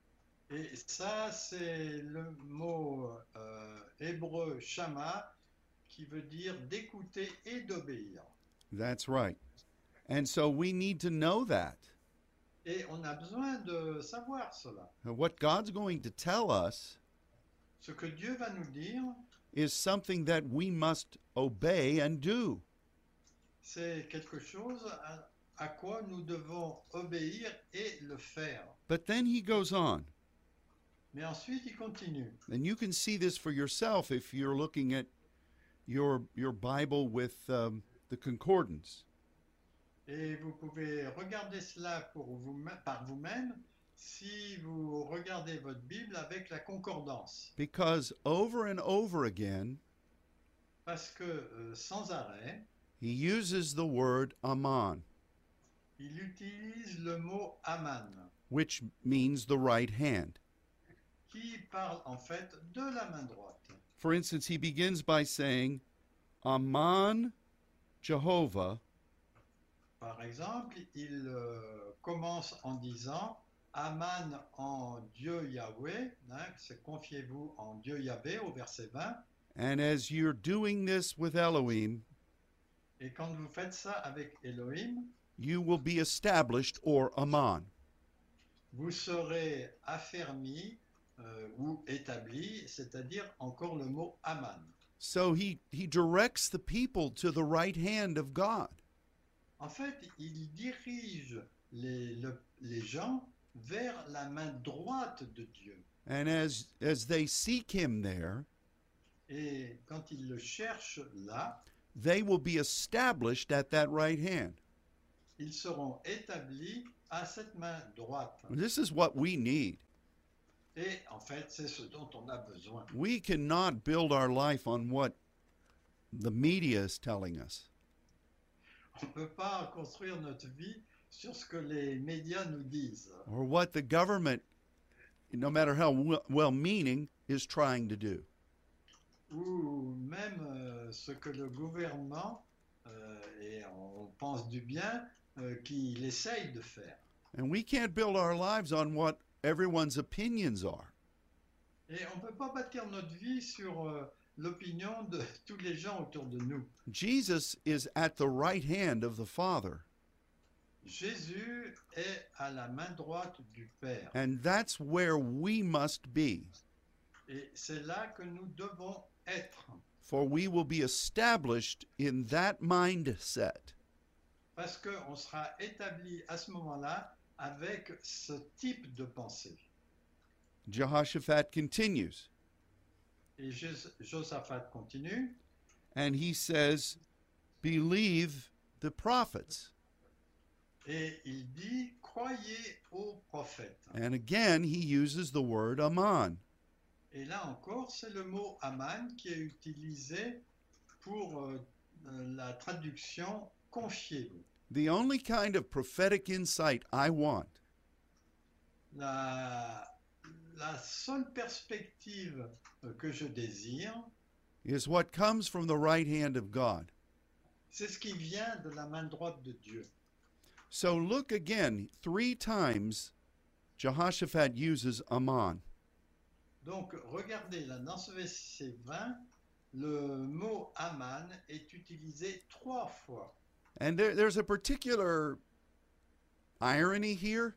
Speaker 2: Et ça, c'est le mot euh, hébreu shama, qui veut dire d'écouter et d'obéir.
Speaker 1: That's right. And so we need to know that.
Speaker 2: Et on a besoin de savoir cela.
Speaker 1: What God's going to tell us
Speaker 2: Ce que Dieu va nous dire,
Speaker 1: is something that we must obey and do.
Speaker 2: c'est quelque chose à, à quoi nous devons obéir et le faire.
Speaker 1: But then he goes on.
Speaker 2: Mais ensuite, il continue.
Speaker 1: And you can see this for yourself if you're looking at your, your Bible with um, the concordance.
Speaker 2: Et vous pouvez regarder cela pour vous, par vous-même si vous regardez votre Bible avec la concordance.
Speaker 1: Because over and over again,
Speaker 2: Parce que euh, sans arrêt,
Speaker 1: he uses the word aman,
Speaker 2: il utilise le mot Aman,
Speaker 1: which means the right hand.
Speaker 2: qui parle en fait de la main droite.
Speaker 1: For instance, he begins by saying, Aman Jehovah,
Speaker 2: Par exemple, il euh, commence en disant Aman en Dieu Yahweh, hein, c'est confiez-vous en Dieu Yahvé au verset vingt.
Speaker 1: and as you're doing this with Elohim,
Speaker 2: Et quand vous faites ça avec Elohim,
Speaker 1: you will be established or aman.
Speaker 2: vous serez affermi euh, ou établi, c'est-à-dire encore le mot Aman.
Speaker 1: So he, he directs the people to the right hand of God.
Speaker 2: En fait, il dirige les, le- les gens vers la main droite de Dieu.
Speaker 1: And as, as they seek him there,
Speaker 2: Et quand ils le cherchent là,
Speaker 1: they will be established at that right hand.
Speaker 2: ils seront établis à cette main droite.
Speaker 1: This is what we need.
Speaker 2: Et en fait, c'est ce dont on a besoin.
Speaker 1: We cannot build our life on what the media is telling us.
Speaker 2: On ne peut pas construire notre vie sur ce que les médias nous disent
Speaker 1: Or what the government, no matter how well meaning, is trying to do.
Speaker 2: ou même euh, ce que le gouvernement, euh, et on pense du bien, euh, qu'il essaye de faire.
Speaker 1: And we can't build our lives on what everyone's opinions are.
Speaker 2: Et on ne peut pas bâtir notre vie sur euh, l'opinion de tous les gens autour de nous.
Speaker 1: Jesus is at the right hand of the Father,
Speaker 2: Jésus est à la main droite du Père.
Speaker 1: and that's where we must be,
Speaker 2: Et c'est là que nous devons être.
Speaker 1: for we will be established in that mindset.
Speaker 2: Parce qu'on sera établi à ce moment-là avec ce type de pensée.
Speaker 1: Jehoshaphat continues,
Speaker 2: Et Jos- Josaphat continue.
Speaker 1: and he says, believe the prophets.
Speaker 2: Et il dit, croyez aux prophètes.
Speaker 1: And again, he uses the word aman.
Speaker 2: Et là encore, c'est le mot Aman qui est utilisé pour euh, euh, la traduction confiez-vous.
Speaker 1: The only kind of prophetic insight I want
Speaker 2: La, la seule perspective euh, que je désire,
Speaker 1: is what comes from the right hand of God.
Speaker 2: c'est ce qui vient de la main droite de Dieu.
Speaker 1: So look again, three times Jehoshaphat uses Ammon.
Speaker 2: Donc, regardez là, dans ce verset vingt, le mot Aman est utilisé trois fois.
Speaker 1: And there, there's a particular irony here.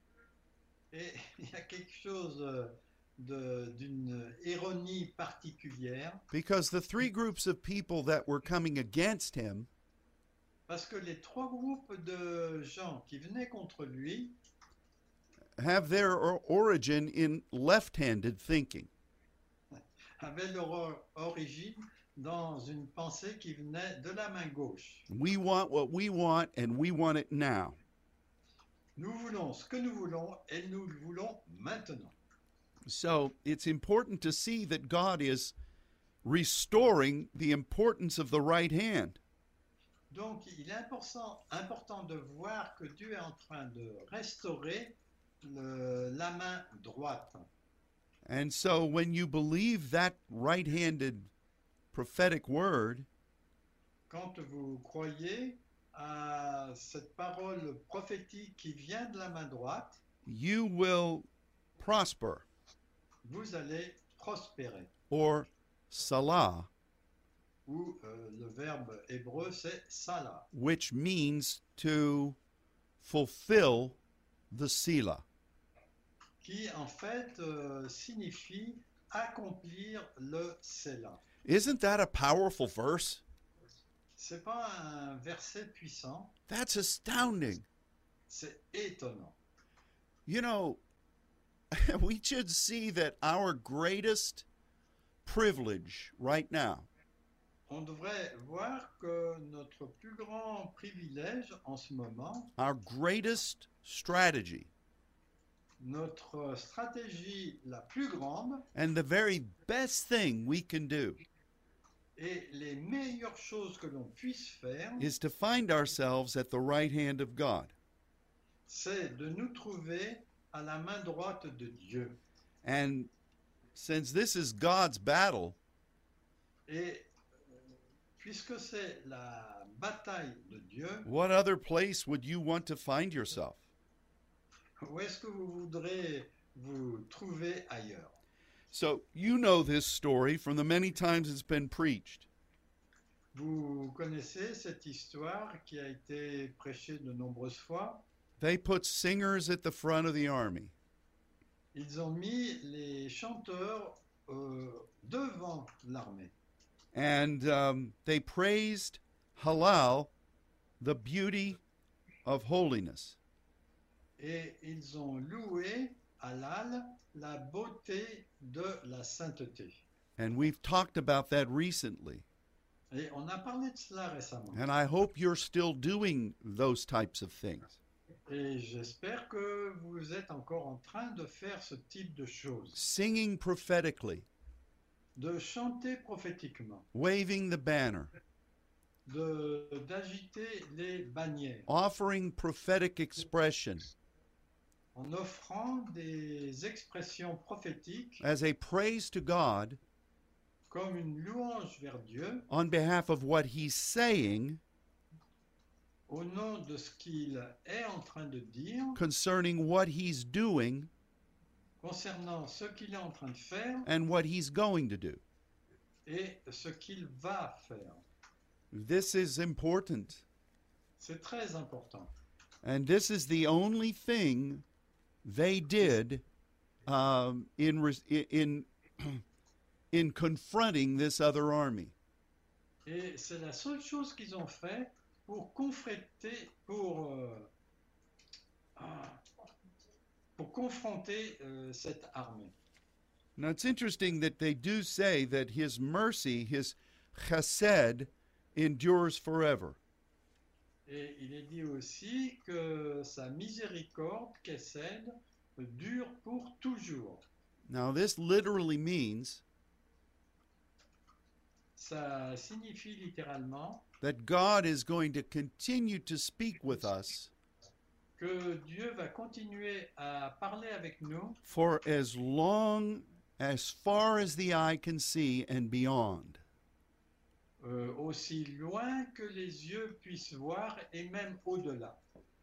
Speaker 2: Et il y a quelque chose euh, de- d'une ironie particulière,
Speaker 1: Because the three groups of people that were coming against him
Speaker 2: parce que les trois groupes de gens qui venaient contre lui
Speaker 1: have their or- origin in left-handed thinking.
Speaker 2: avaient leur or- origine dans une pensée qui venait de la main gauche.
Speaker 1: We want what we want, and we want it now.
Speaker 2: Nous voulons ce que nous voulons et nous le voulons maintenant.
Speaker 1: So it's important to see that God is restoring the importance of the right hand.
Speaker 2: Donc, il est important, important de voir que Dieu est en train de restaurer le- la main droite.
Speaker 1: And so when you believe that right-handed prophetic word,
Speaker 2: Quand vous croyez à cette parole prophétique qui vient de la main droite,
Speaker 1: you will prosper,
Speaker 2: vous allez prospérer.
Speaker 1: or salah,
Speaker 2: Ou euh, le verbe hébreu, c'est salah,
Speaker 1: which means to fulfill the Selah.
Speaker 2: qui en fait euh, signifie accomplir le Selah.
Speaker 1: Isn't that a powerful verse?
Speaker 2: C'est pas un verset puissant,
Speaker 1: That's astounding.
Speaker 2: c'est étonnant.
Speaker 1: You know, we should see that our greatest privilege right now
Speaker 2: On devrait voir que notre plus grand privilège en ce moment,
Speaker 1: our greatest strategy,
Speaker 2: notre stratégie la plus grande
Speaker 1: and the very best thing we can do
Speaker 2: et les meilleures choses que l'on puisse faire,
Speaker 1: is to find ourselves at the right hand of God.
Speaker 2: c'est de nous trouver à la main droite de Dieu.
Speaker 1: And since this is God's battle,
Speaker 2: Et euh, puisque c'est la bataille de Dieu,
Speaker 1: what other place would you want to find yourself?
Speaker 2: où est-ce que vous voudrez vous trouver ailleurs?
Speaker 1: So you know this story from the many times it's been preached.
Speaker 2: Vous connaissez cette histoire qui a été prêchée de nombreuses fois.
Speaker 1: They put singers at the front of the army.
Speaker 2: Ils ont mis les chanteurs euh, devant l'armée.
Speaker 1: And um, they praised Halal, the beauty of holiness.
Speaker 2: Et ils ont loué Halal, la beauté de la sainteté.
Speaker 1: And we've talked about that recently.
Speaker 2: Et on a parlé de cela récemment.
Speaker 1: And I hope you're still doing those types of things.
Speaker 2: Et j'espère que vous êtes encore en train de faire ce type de choses.
Speaker 1: Singing prophetically,
Speaker 2: De chanter prophétiquement,
Speaker 1: waving the banner,
Speaker 2: de, d'agiter les bannières,
Speaker 1: offering prophetic expression
Speaker 2: en offrant des expressions prophétiques
Speaker 1: as a praise to God
Speaker 2: comme une louange vers Dieu
Speaker 1: on behalf of what He's saying
Speaker 2: au nom de ce qu'il est en train de dire
Speaker 1: concerning what He's doing
Speaker 2: concernant ce qu'il est en train de faire
Speaker 1: and what He's going to do.
Speaker 2: et ce qu'il va faire.
Speaker 1: This is important.
Speaker 2: C'est très important.
Speaker 1: And this is the only thing they did um, in, res- in, in confronting this other army.
Speaker 2: Et c'est la seule chose qu'ils ont fait pour confronter, pour, euh, ah, pour confronter euh, cette armée.
Speaker 1: Now it's interesting that they do say that His mercy, His chesed, endures forever.
Speaker 2: Et il est dit aussi que sa miséricorde, Kessed, dure pour toujours.
Speaker 1: Now this literally means
Speaker 2: ça signifie littéralement
Speaker 1: that God is going to continue to speak with us
Speaker 2: que Dieu va continuer à parler avec nous
Speaker 1: for as long, as far as the eye can see and beyond.
Speaker 2: euh, aussi loin que les yeux puissent voir et même au-delà.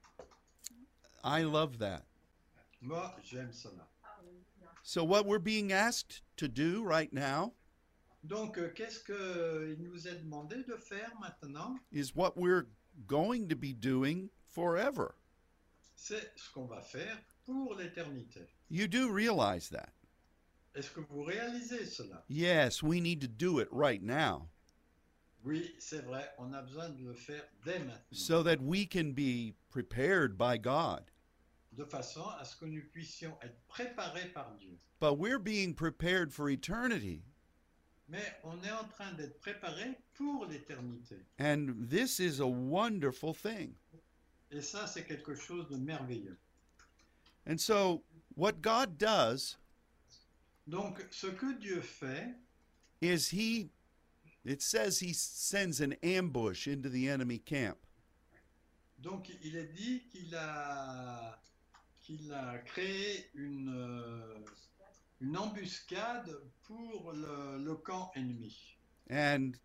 Speaker 1: I love that.
Speaker 2: Moi, j'aime cela.
Speaker 1: So what we're being asked to do right now
Speaker 2: Donc, euh, qu'est-ce qu'il nous est demandé de faire maintenant?
Speaker 1: is what we're going to be doing forever.
Speaker 2: C'est ce qu'on va faire pour l'éternité.
Speaker 1: You do realize that.
Speaker 2: Est-ce que vous réalisez cela?
Speaker 1: Yes, we need to do it right now
Speaker 2: Oui, c'est vrai, on a besoin de le faire dès maintenant,
Speaker 1: so that we can be prepared by God.
Speaker 2: de façon à ce que nous puissions être préparés par Dieu.
Speaker 1: But we're being prepared for eternity.
Speaker 2: Mais on est en train d'être préparés pour l'éternité.
Speaker 1: And this is a wonderful thing.
Speaker 2: Et ça, c'est quelque chose de merveilleux.
Speaker 1: And so what God does
Speaker 2: Donc, ce que Dieu fait,
Speaker 1: is he, it says he sends an ambush into the enemy camp.
Speaker 2: donc il est dit qu'il a, qu'il a créé une, euh, une embuscade pour le, le camp ennemi.
Speaker 1: And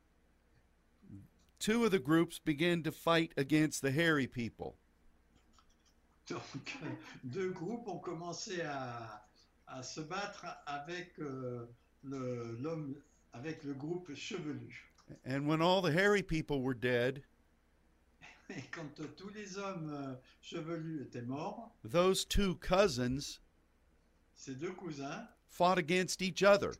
Speaker 1: two of the groups begin to fight against the hairy people.
Speaker 2: Donc, deux groupes ont commencé à, à se battre avec, euh, le, l'homme, avec le groupe chevelu.
Speaker 1: And when all the hairy people were dead,
Speaker 2: Et quand euh, tous les hommes euh, chevelus étaient morts,
Speaker 1: those two cousins
Speaker 2: ces deux cousins
Speaker 1: fought against each other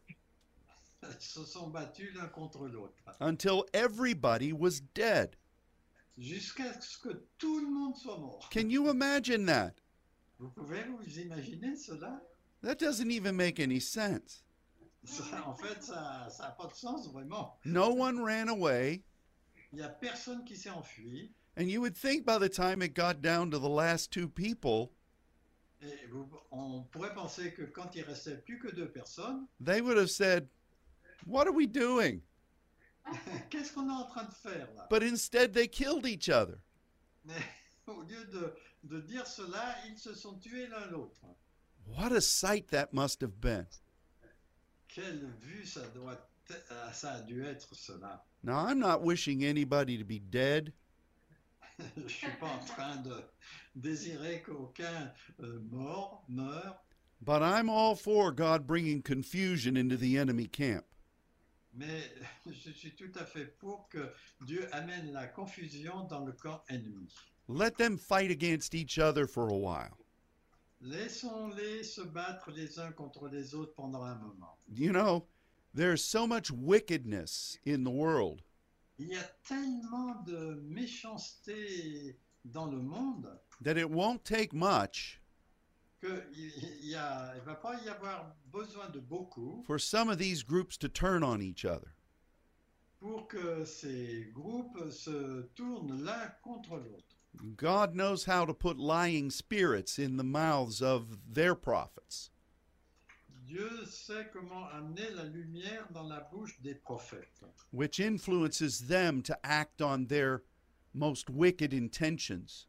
Speaker 2: se sont battus l'un contre l'autre,
Speaker 1: until everybody was dead.
Speaker 2: jusqu'à ce que tout le monde soit mort.
Speaker 1: Can you imagine that?
Speaker 2: Vous pouvez vous imaginer cela?
Speaker 1: That doesn't even make any sense.
Speaker 2: Ça, en fait, ça n'a pas de sens vraiment.
Speaker 1: No one ran away,
Speaker 2: Il n'y a personne qui s'est enfui.
Speaker 1: and you would think by the time it got down to the last two people,
Speaker 2: Et vous- on pourrait penser que quand il restait plus que deux personnes,
Speaker 1: they would have said, "What are we doing?"
Speaker 2: qu'est-ce qu'on est en train de faire là?
Speaker 1: But instead, they killed each other.
Speaker 2: Mais au lieu de, de dire cela, ils se sont tués l'un l'autre.
Speaker 1: What a sight that must have been.
Speaker 2: Quelle vue ça doit, euh, ça a dû être cela.
Speaker 1: Now, I'm not wishing anybody to be dead,
Speaker 2: Je ne suis pas en train de désirer qu'aucun euh, mort meure,
Speaker 1: but I'm all for God bringing confusion into the enemy camp.
Speaker 2: mais je suis tout à fait pour que Dieu amène la confusion dans le camp ennemi.
Speaker 1: Let them fight against each other for a while.
Speaker 2: Laissons-les se battre les uns contre les autres pendant un moment.
Speaker 1: You know, there's so much wickedness in the world,
Speaker 2: Il y a tellement de méchanceté dans le monde
Speaker 1: that it won't take much
Speaker 2: qu'il ne va pas y avoir besoin de beaucoup
Speaker 1: for some of these groups to turn on each other.
Speaker 2: pour que ces groupes se tournent l'un contre l'autre.
Speaker 1: God knows how to put lying spirits in the mouths of their prophets.
Speaker 2: Dieu sait comment amener la lumière dans la bouche des prophètes,
Speaker 1: which influences them to act on their most wicked intentions.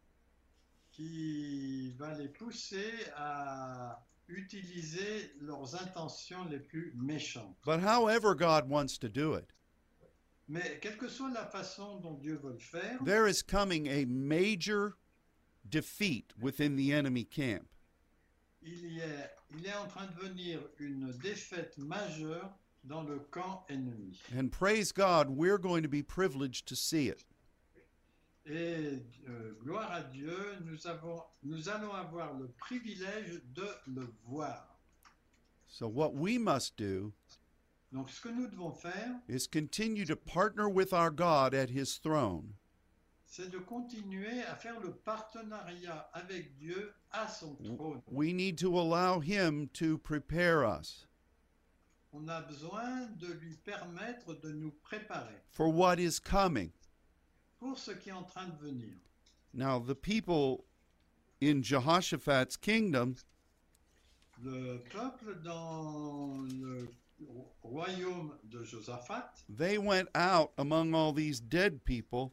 Speaker 2: qui va les pousser à utiliser leurs intentions les plus méchantes.
Speaker 1: But however God wants to do it,
Speaker 2: Mais quelle que soit la façon dont Dieu veut le faire,
Speaker 1: there is coming a major defeat within the enemy camp.
Speaker 2: il, y est, il est en train de venir une défaite majeure dans le camp ennemi.
Speaker 1: And praise God, we're going to be privileged to see it.
Speaker 2: Et euh, gloire à Dieu, nous, avons, nous allons avoir le privilège de le voir.
Speaker 1: So what we must do
Speaker 2: Donc ce que nous devons faire,
Speaker 1: is continue to partner with our God at his throne
Speaker 2: c'est de continuer à faire le partenariat avec Dieu à son trône.
Speaker 1: we need to allow him to prepare us
Speaker 2: On a besoin de lui permettre de nous préparer
Speaker 1: for what is coming.
Speaker 2: pour ce qui est en train de venir.
Speaker 1: Now, the people in Jehoshaphat's kingdom,
Speaker 2: Le peuple dans le royaume de Josaphat,
Speaker 1: they went out among all these dead people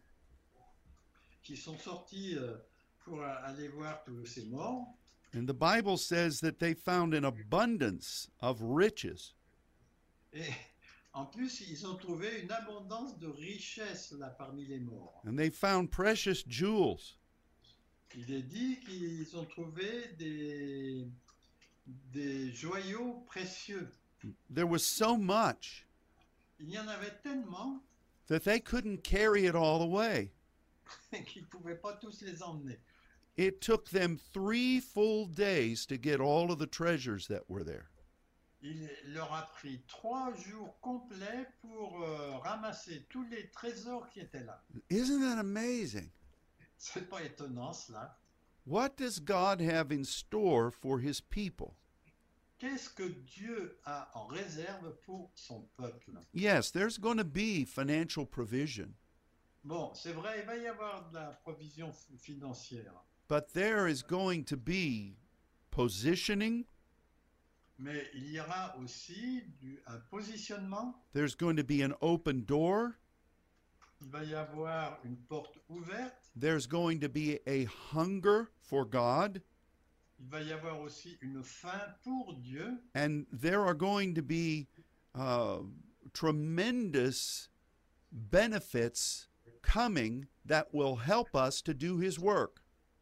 Speaker 2: qui sont sortis euh, pour aller voir tous ces morts.
Speaker 1: and the Bible says that they found an abundance of riches.
Speaker 2: Et en plus, ils ont trouvé une abondance de richesses là parmi les morts.
Speaker 1: And they found precious jewels.
Speaker 2: Il est dit qu'ils ont trouvé des, des joyaux précieux.
Speaker 1: There was so much
Speaker 2: Il y en avait tellement
Speaker 1: that they couldn't carry it all away.
Speaker 2: qu'ils ne pouvaient pas tous les emmener.
Speaker 1: It took them three full days to get all of the treasures that were there.
Speaker 2: Il leur a pris trois jours complets pour euh, ramasser tous les trésors qui étaient là.
Speaker 1: Isn't that amazing?
Speaker 2: C'est pas étonnant cela.
Speaker 1: What does God have in store for his people?
Speaker 2: Qu'est-ce que Dieu a en réserve pour son peuple?
Speaker 1: Yes, there's going to be financial provision,
Speaker 2: Bon, c'est vrai, il va y avoir de la provision f- financière,
Speaker 1: but there is going to be positioning,
Speaker 2: mais il y aura aussi du, un positionnement.
Speaker 1: there's going to be an open door,
Speaker 2: Il va y avoir une porte ouverte.
Speaker 1: there's going to be a hunger for God,
Speaker 2: Il va y avoir aussi une faim pour Dieu.
Speaker 1: and there are going to be uh, tremendous benefits coming that will help us to do his work.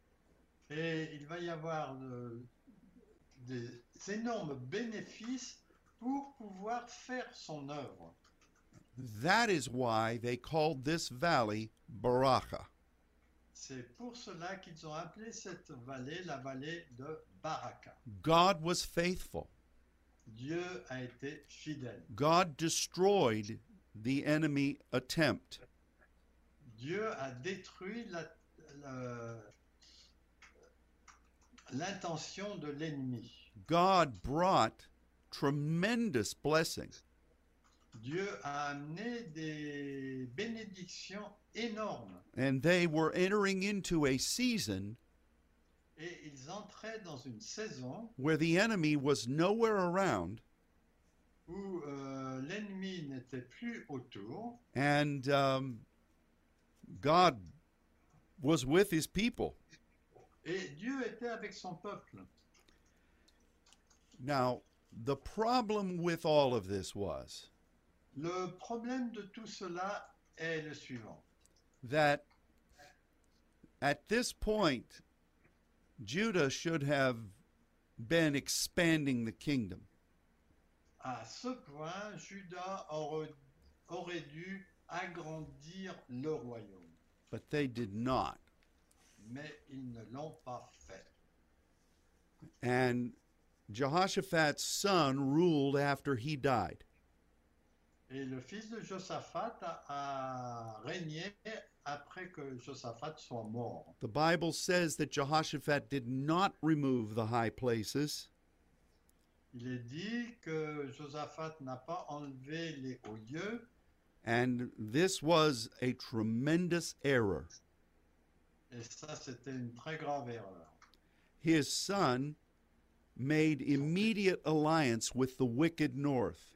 Speaker 2: Et il va y avoir euh, des énormes bénéfices pour pouvoir faire son œuvre.
Speaker 1: That is why they called this valley Baraka.
Speaker 2: C'est pour cela qu'ils ont appelé cette vallée la vallée de Baraka.
Speaker 1: God was faithful.
Speaker 2: Dieu a été fidèle.
Speaker 1: God destroyed the enemy attempt.
Speaker 2: Dieu a détruit la- la- l'intention de l'ennemi.
Speaker 1: God brought tremendous blessing.
Speaker 2: Dieu a amené des bénédictions énormes
Speaker 1: And they were entering into a season
Speaker 2: et ils entraient dans une saison
Speaker 1: where the enemy was nowhere around
Speaker 2: où euh, l'ennemi n'était plus autour
Speaker 1: and um, God was with his people.
Speaker 2: et Dieu était avec son peuple.
Speaker 1: Now, the problem with all of this was
Speaker 2: Le problème de tout cela est le suivant.
Speaker 1: that at this point, Judah should have been expanding the kingdom.
Speaker 2: À ce point, Judas aurait, aurait dû agrandir le royaume,
Speaker 1: But they did not.
Speaker 2: mais ils ne l'ont pas fait.
Speaker 1: And Jehoshaphat's son ruled after he died.
Speaker 2: Et le fils de Josaphat a, a régné après que Josaphat soit mort.
Speaker 1: The Bible says that Jehoshaphat did not remove the high places,
Speaker 2: Il est dit que Josaphat n'a pas enlevé les hauts lieux,
Speaker 1: and this was a tremendous error.
Speaker 2: et ça c'était une très grave erreur.
Speaker 1: His son made immediate alliance with the wicked north.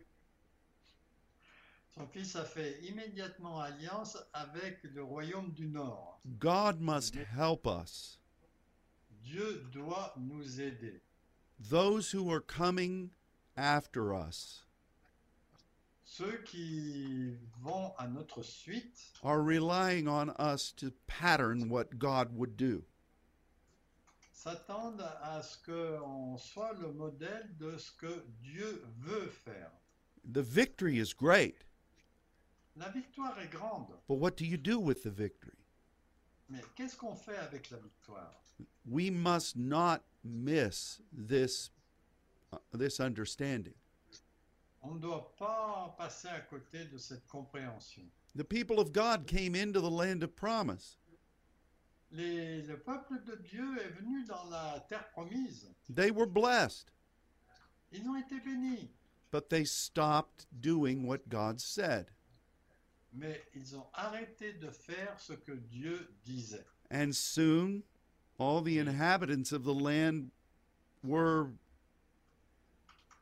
Speaker 2: Son fils a fait immédiatement alliance avec le royaume du Nord.
Speaker 1: God must help us.
Speaker 2: Dieu doit nous aider.
Speaker 1: Those who are coming after us
Speaker 2: Ceux qui vont à notre suite
Speaker 1: are relying on us to pattern what God would do.
Speaker 2: s'attendent à ce qu'on soit le modèle de ce que Dieu veut faire.
Speaker 1: The victory is great,
Speaker 2: La victoire est grande,
Speaker 1: but what do you do with the victory?
Speaker 2: mais qu'est-ce qu'on fait avec la victoire?
Speaker 1: We must not miss this, uh, this understanding.
Speaker 2: On ne doit pas passer à côté de cette compréhension.
Speaker 1: The people of God came into the land of promise.
Speaker 2: Les- le peuple de Dieu est venu dans la terre promise.
Speaker 1: They were blessed,
Speaker 2: Ils ont été bénis,
Speaker 1: but they stopped doing what God said.
Speaker 2: mais ils ont arrêté de faire ce que Dieu disait.
Speaker 1: And soon, all the inhabitants of the land were,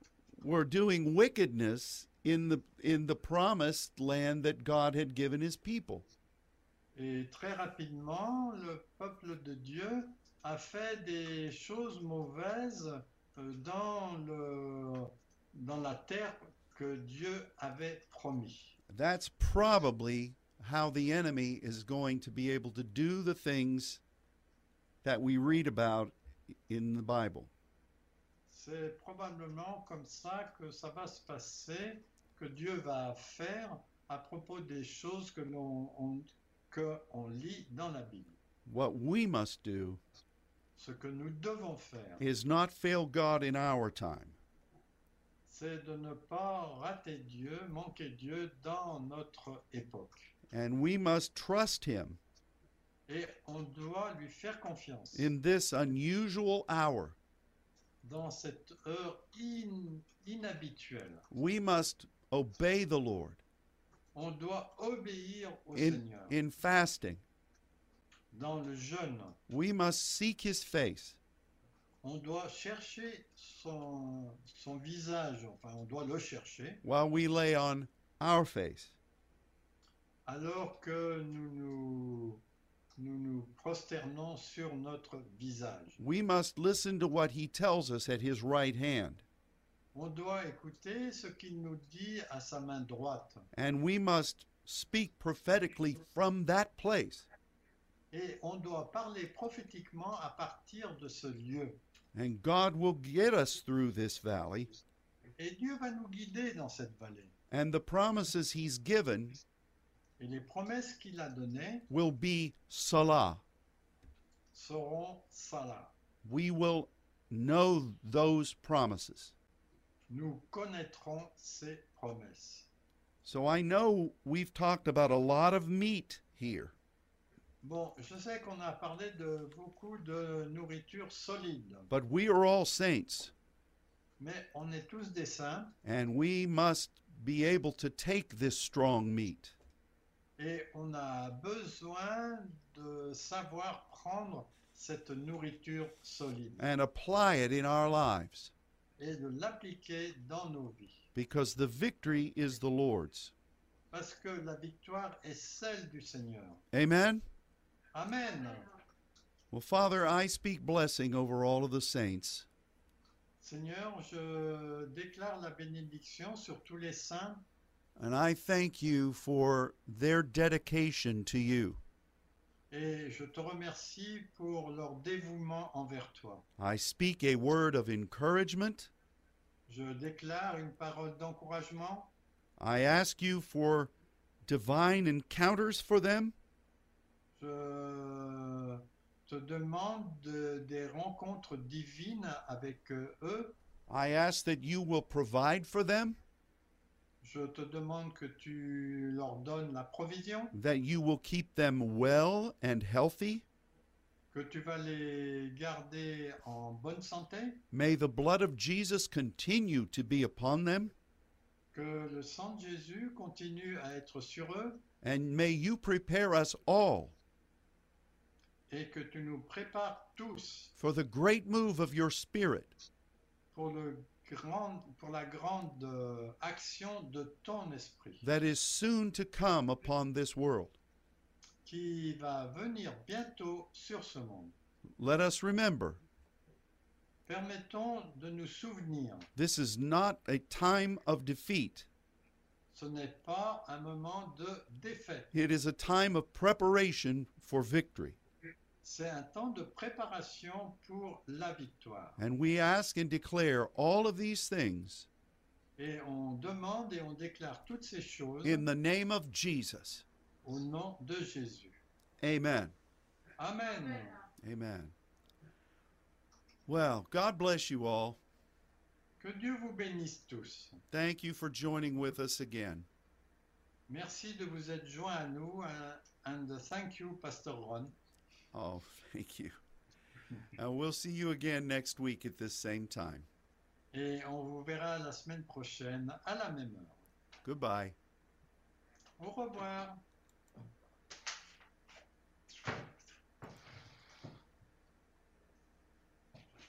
Speaker 1: were doing wickedness in the in the promised land that God had given his people.
Speaker 2: Et très rapidement, le peuple de Dieu a fait des choses mauvaises euh, dans, le, dans la terre que Dieu avait promis.
Speaker 1: That's probably how the enemy is going to be able to do the things that we read about in the Bible.
Speaker 2: C'est probablement comme ça que ça va se passer, que Dieu va faire à propos des choses que l'on on, que on lit dans la Bible.
Speaker 1: What we must do
Speaker 2: Ce que nous devons faire,
Speaker 1: is not fail God in our time,
Speaker 2: c'est de ne pas rater Dieu, manquer Dieu dans notre époque.
Speaker 1: and we must trust him
Speaker 2: Et on doit lui faire confiance
Speaker 1: in this unusual hour.
Speaker 2: dans cette heure in- inhabituelle.
Speaker 1: We must obey the Lord
Speaker 2: On doit obéir au
Speaker 1: in,
Speaker 2: Seigneur.
Speaker 1: in fasting.
Speaker 2: Dans le jeûne,
Speaker 1: We must seek his face.
Speaker 2: on doit chercher son, son visage, enfin on doit le chercher,
Speaker 1: While we lay on our face.
Speaker 2: alors que nous nous, nous nous prosternons sur notre visage.
Speaker 1: We must listen to what he tells us at his right hand,
Speaker 2: On doit écouter ce qu'il nous dit à sa main droite.
Speaker 1: and we must speak prophetically from that place.
Speaker 2: Et on doit parler prophétiquement à partir de ce lieu.
Speaker 1: And God will get us through this valley,
Speaker 2: Et Dieu va nous guider dans cette vallée.
Speaker 1: and the promises he's given
Speaker 2: Et les promesses qu'il a données
Speaker 1: will be Salah.
Speaker 2: seront Salah.
Speaker 1: We will know those promises.
Speaker 2: Nous connaîtrons ces promesses.
Speaker 1: So I know we've talked about a lot of meat here,
Speaker 2: Bon, je sais qu'on a parlé de beaucoup de nourriture solide,
Speaker 1: but we are all saints,
Speaker 2: mais on est tous des saints
Speaker 1: and we must be able to take this strong meat
Speaker 2: et on a besoin de savoir prendre cette nourriture solide
Speaker 1: and apply it in our lives,
Speaker 2: et de l'appliquer dans nos vies.
Speaker 1: because the victory is the Lord's.
Speaker 2: Parce que la victoire est celle du Seigneur.
Speaker 1: Amen?
Speaker 2: Amen.
Speaker 1: Well, Father, I speak blessing over all of the saints.
Speaker 2: Seigneur, je déclare la bénédiction sur tous les saints
Speaker 1: And I thank you for their dedication to you.
Speaker 2: et je te remercie pour leur dévouement envers toi.
Speaker 1: I speak a word of encouragement.
Speaker 2: Je déclare une parole d'encouragement.
Speaker 1: I ask you for divine encounters for them.
Speaker 2: Je te demande de- des rencontres divines avec euh, eux.
Speaker 1: I ask that you will provide for them,
Speaker 2: Je te demande que tu leur donnes la provision,
Speaker 1: that you will keep them well and healthy.
Speaker 2: que tu vas les garder en bonne santé,
Speaker 1: May the blood of Jesus continue to be upon them,
Speaker 2: que le sang de Jésus continue à être sur eux
Speaker 1: and may you prepare us all
Speaker 2: et que tu nous prépares tous
Speaker 1: for the great move of your Spirit
Speaker 2: pour, le grand, pour la grande euh, action de ton esprit
Speaker 1: that is soon to come upon this world.
Speaker 2: qui va venir bientôt sur ce monde.
Speaker 1: Let us remember,
Speaker 2: Permettons de nous souvenir,
Speaker 1: this is not a time of defeat.
Speaker 2: ce n'est pas un moment de défaite,
Speaker 1: It is a time of preparation for victory.
Speaker 2: c'est un temps de préparation pour la victoire.
Speaker 1: And we ask and declare all of these things
Speaker 2: Et on demande et on déclare toutes ces choses
Speaker 1: in the name of Jesus.
Speaker 2: au nom de Jésus.
Speaker 1: Amen.
Speaker 2: Amen.
Speaker 1: Amen. Well, God bless you all.
Speaker 2: Que Dieu vous bénisse tous.
Speaker 1: Thank you for joining with us again.
Speaker 2: Merci de vous être joints à nous. uh, And thank you, Pastor Ron.
Speaker 1: Oh, thank you. And we'll see you again next week at this same time.
Speaker 2: Et on vous verra la semaine prochaine à la même heure.
Speaker 1: Goodbye.
Speaker 2: Au revoir.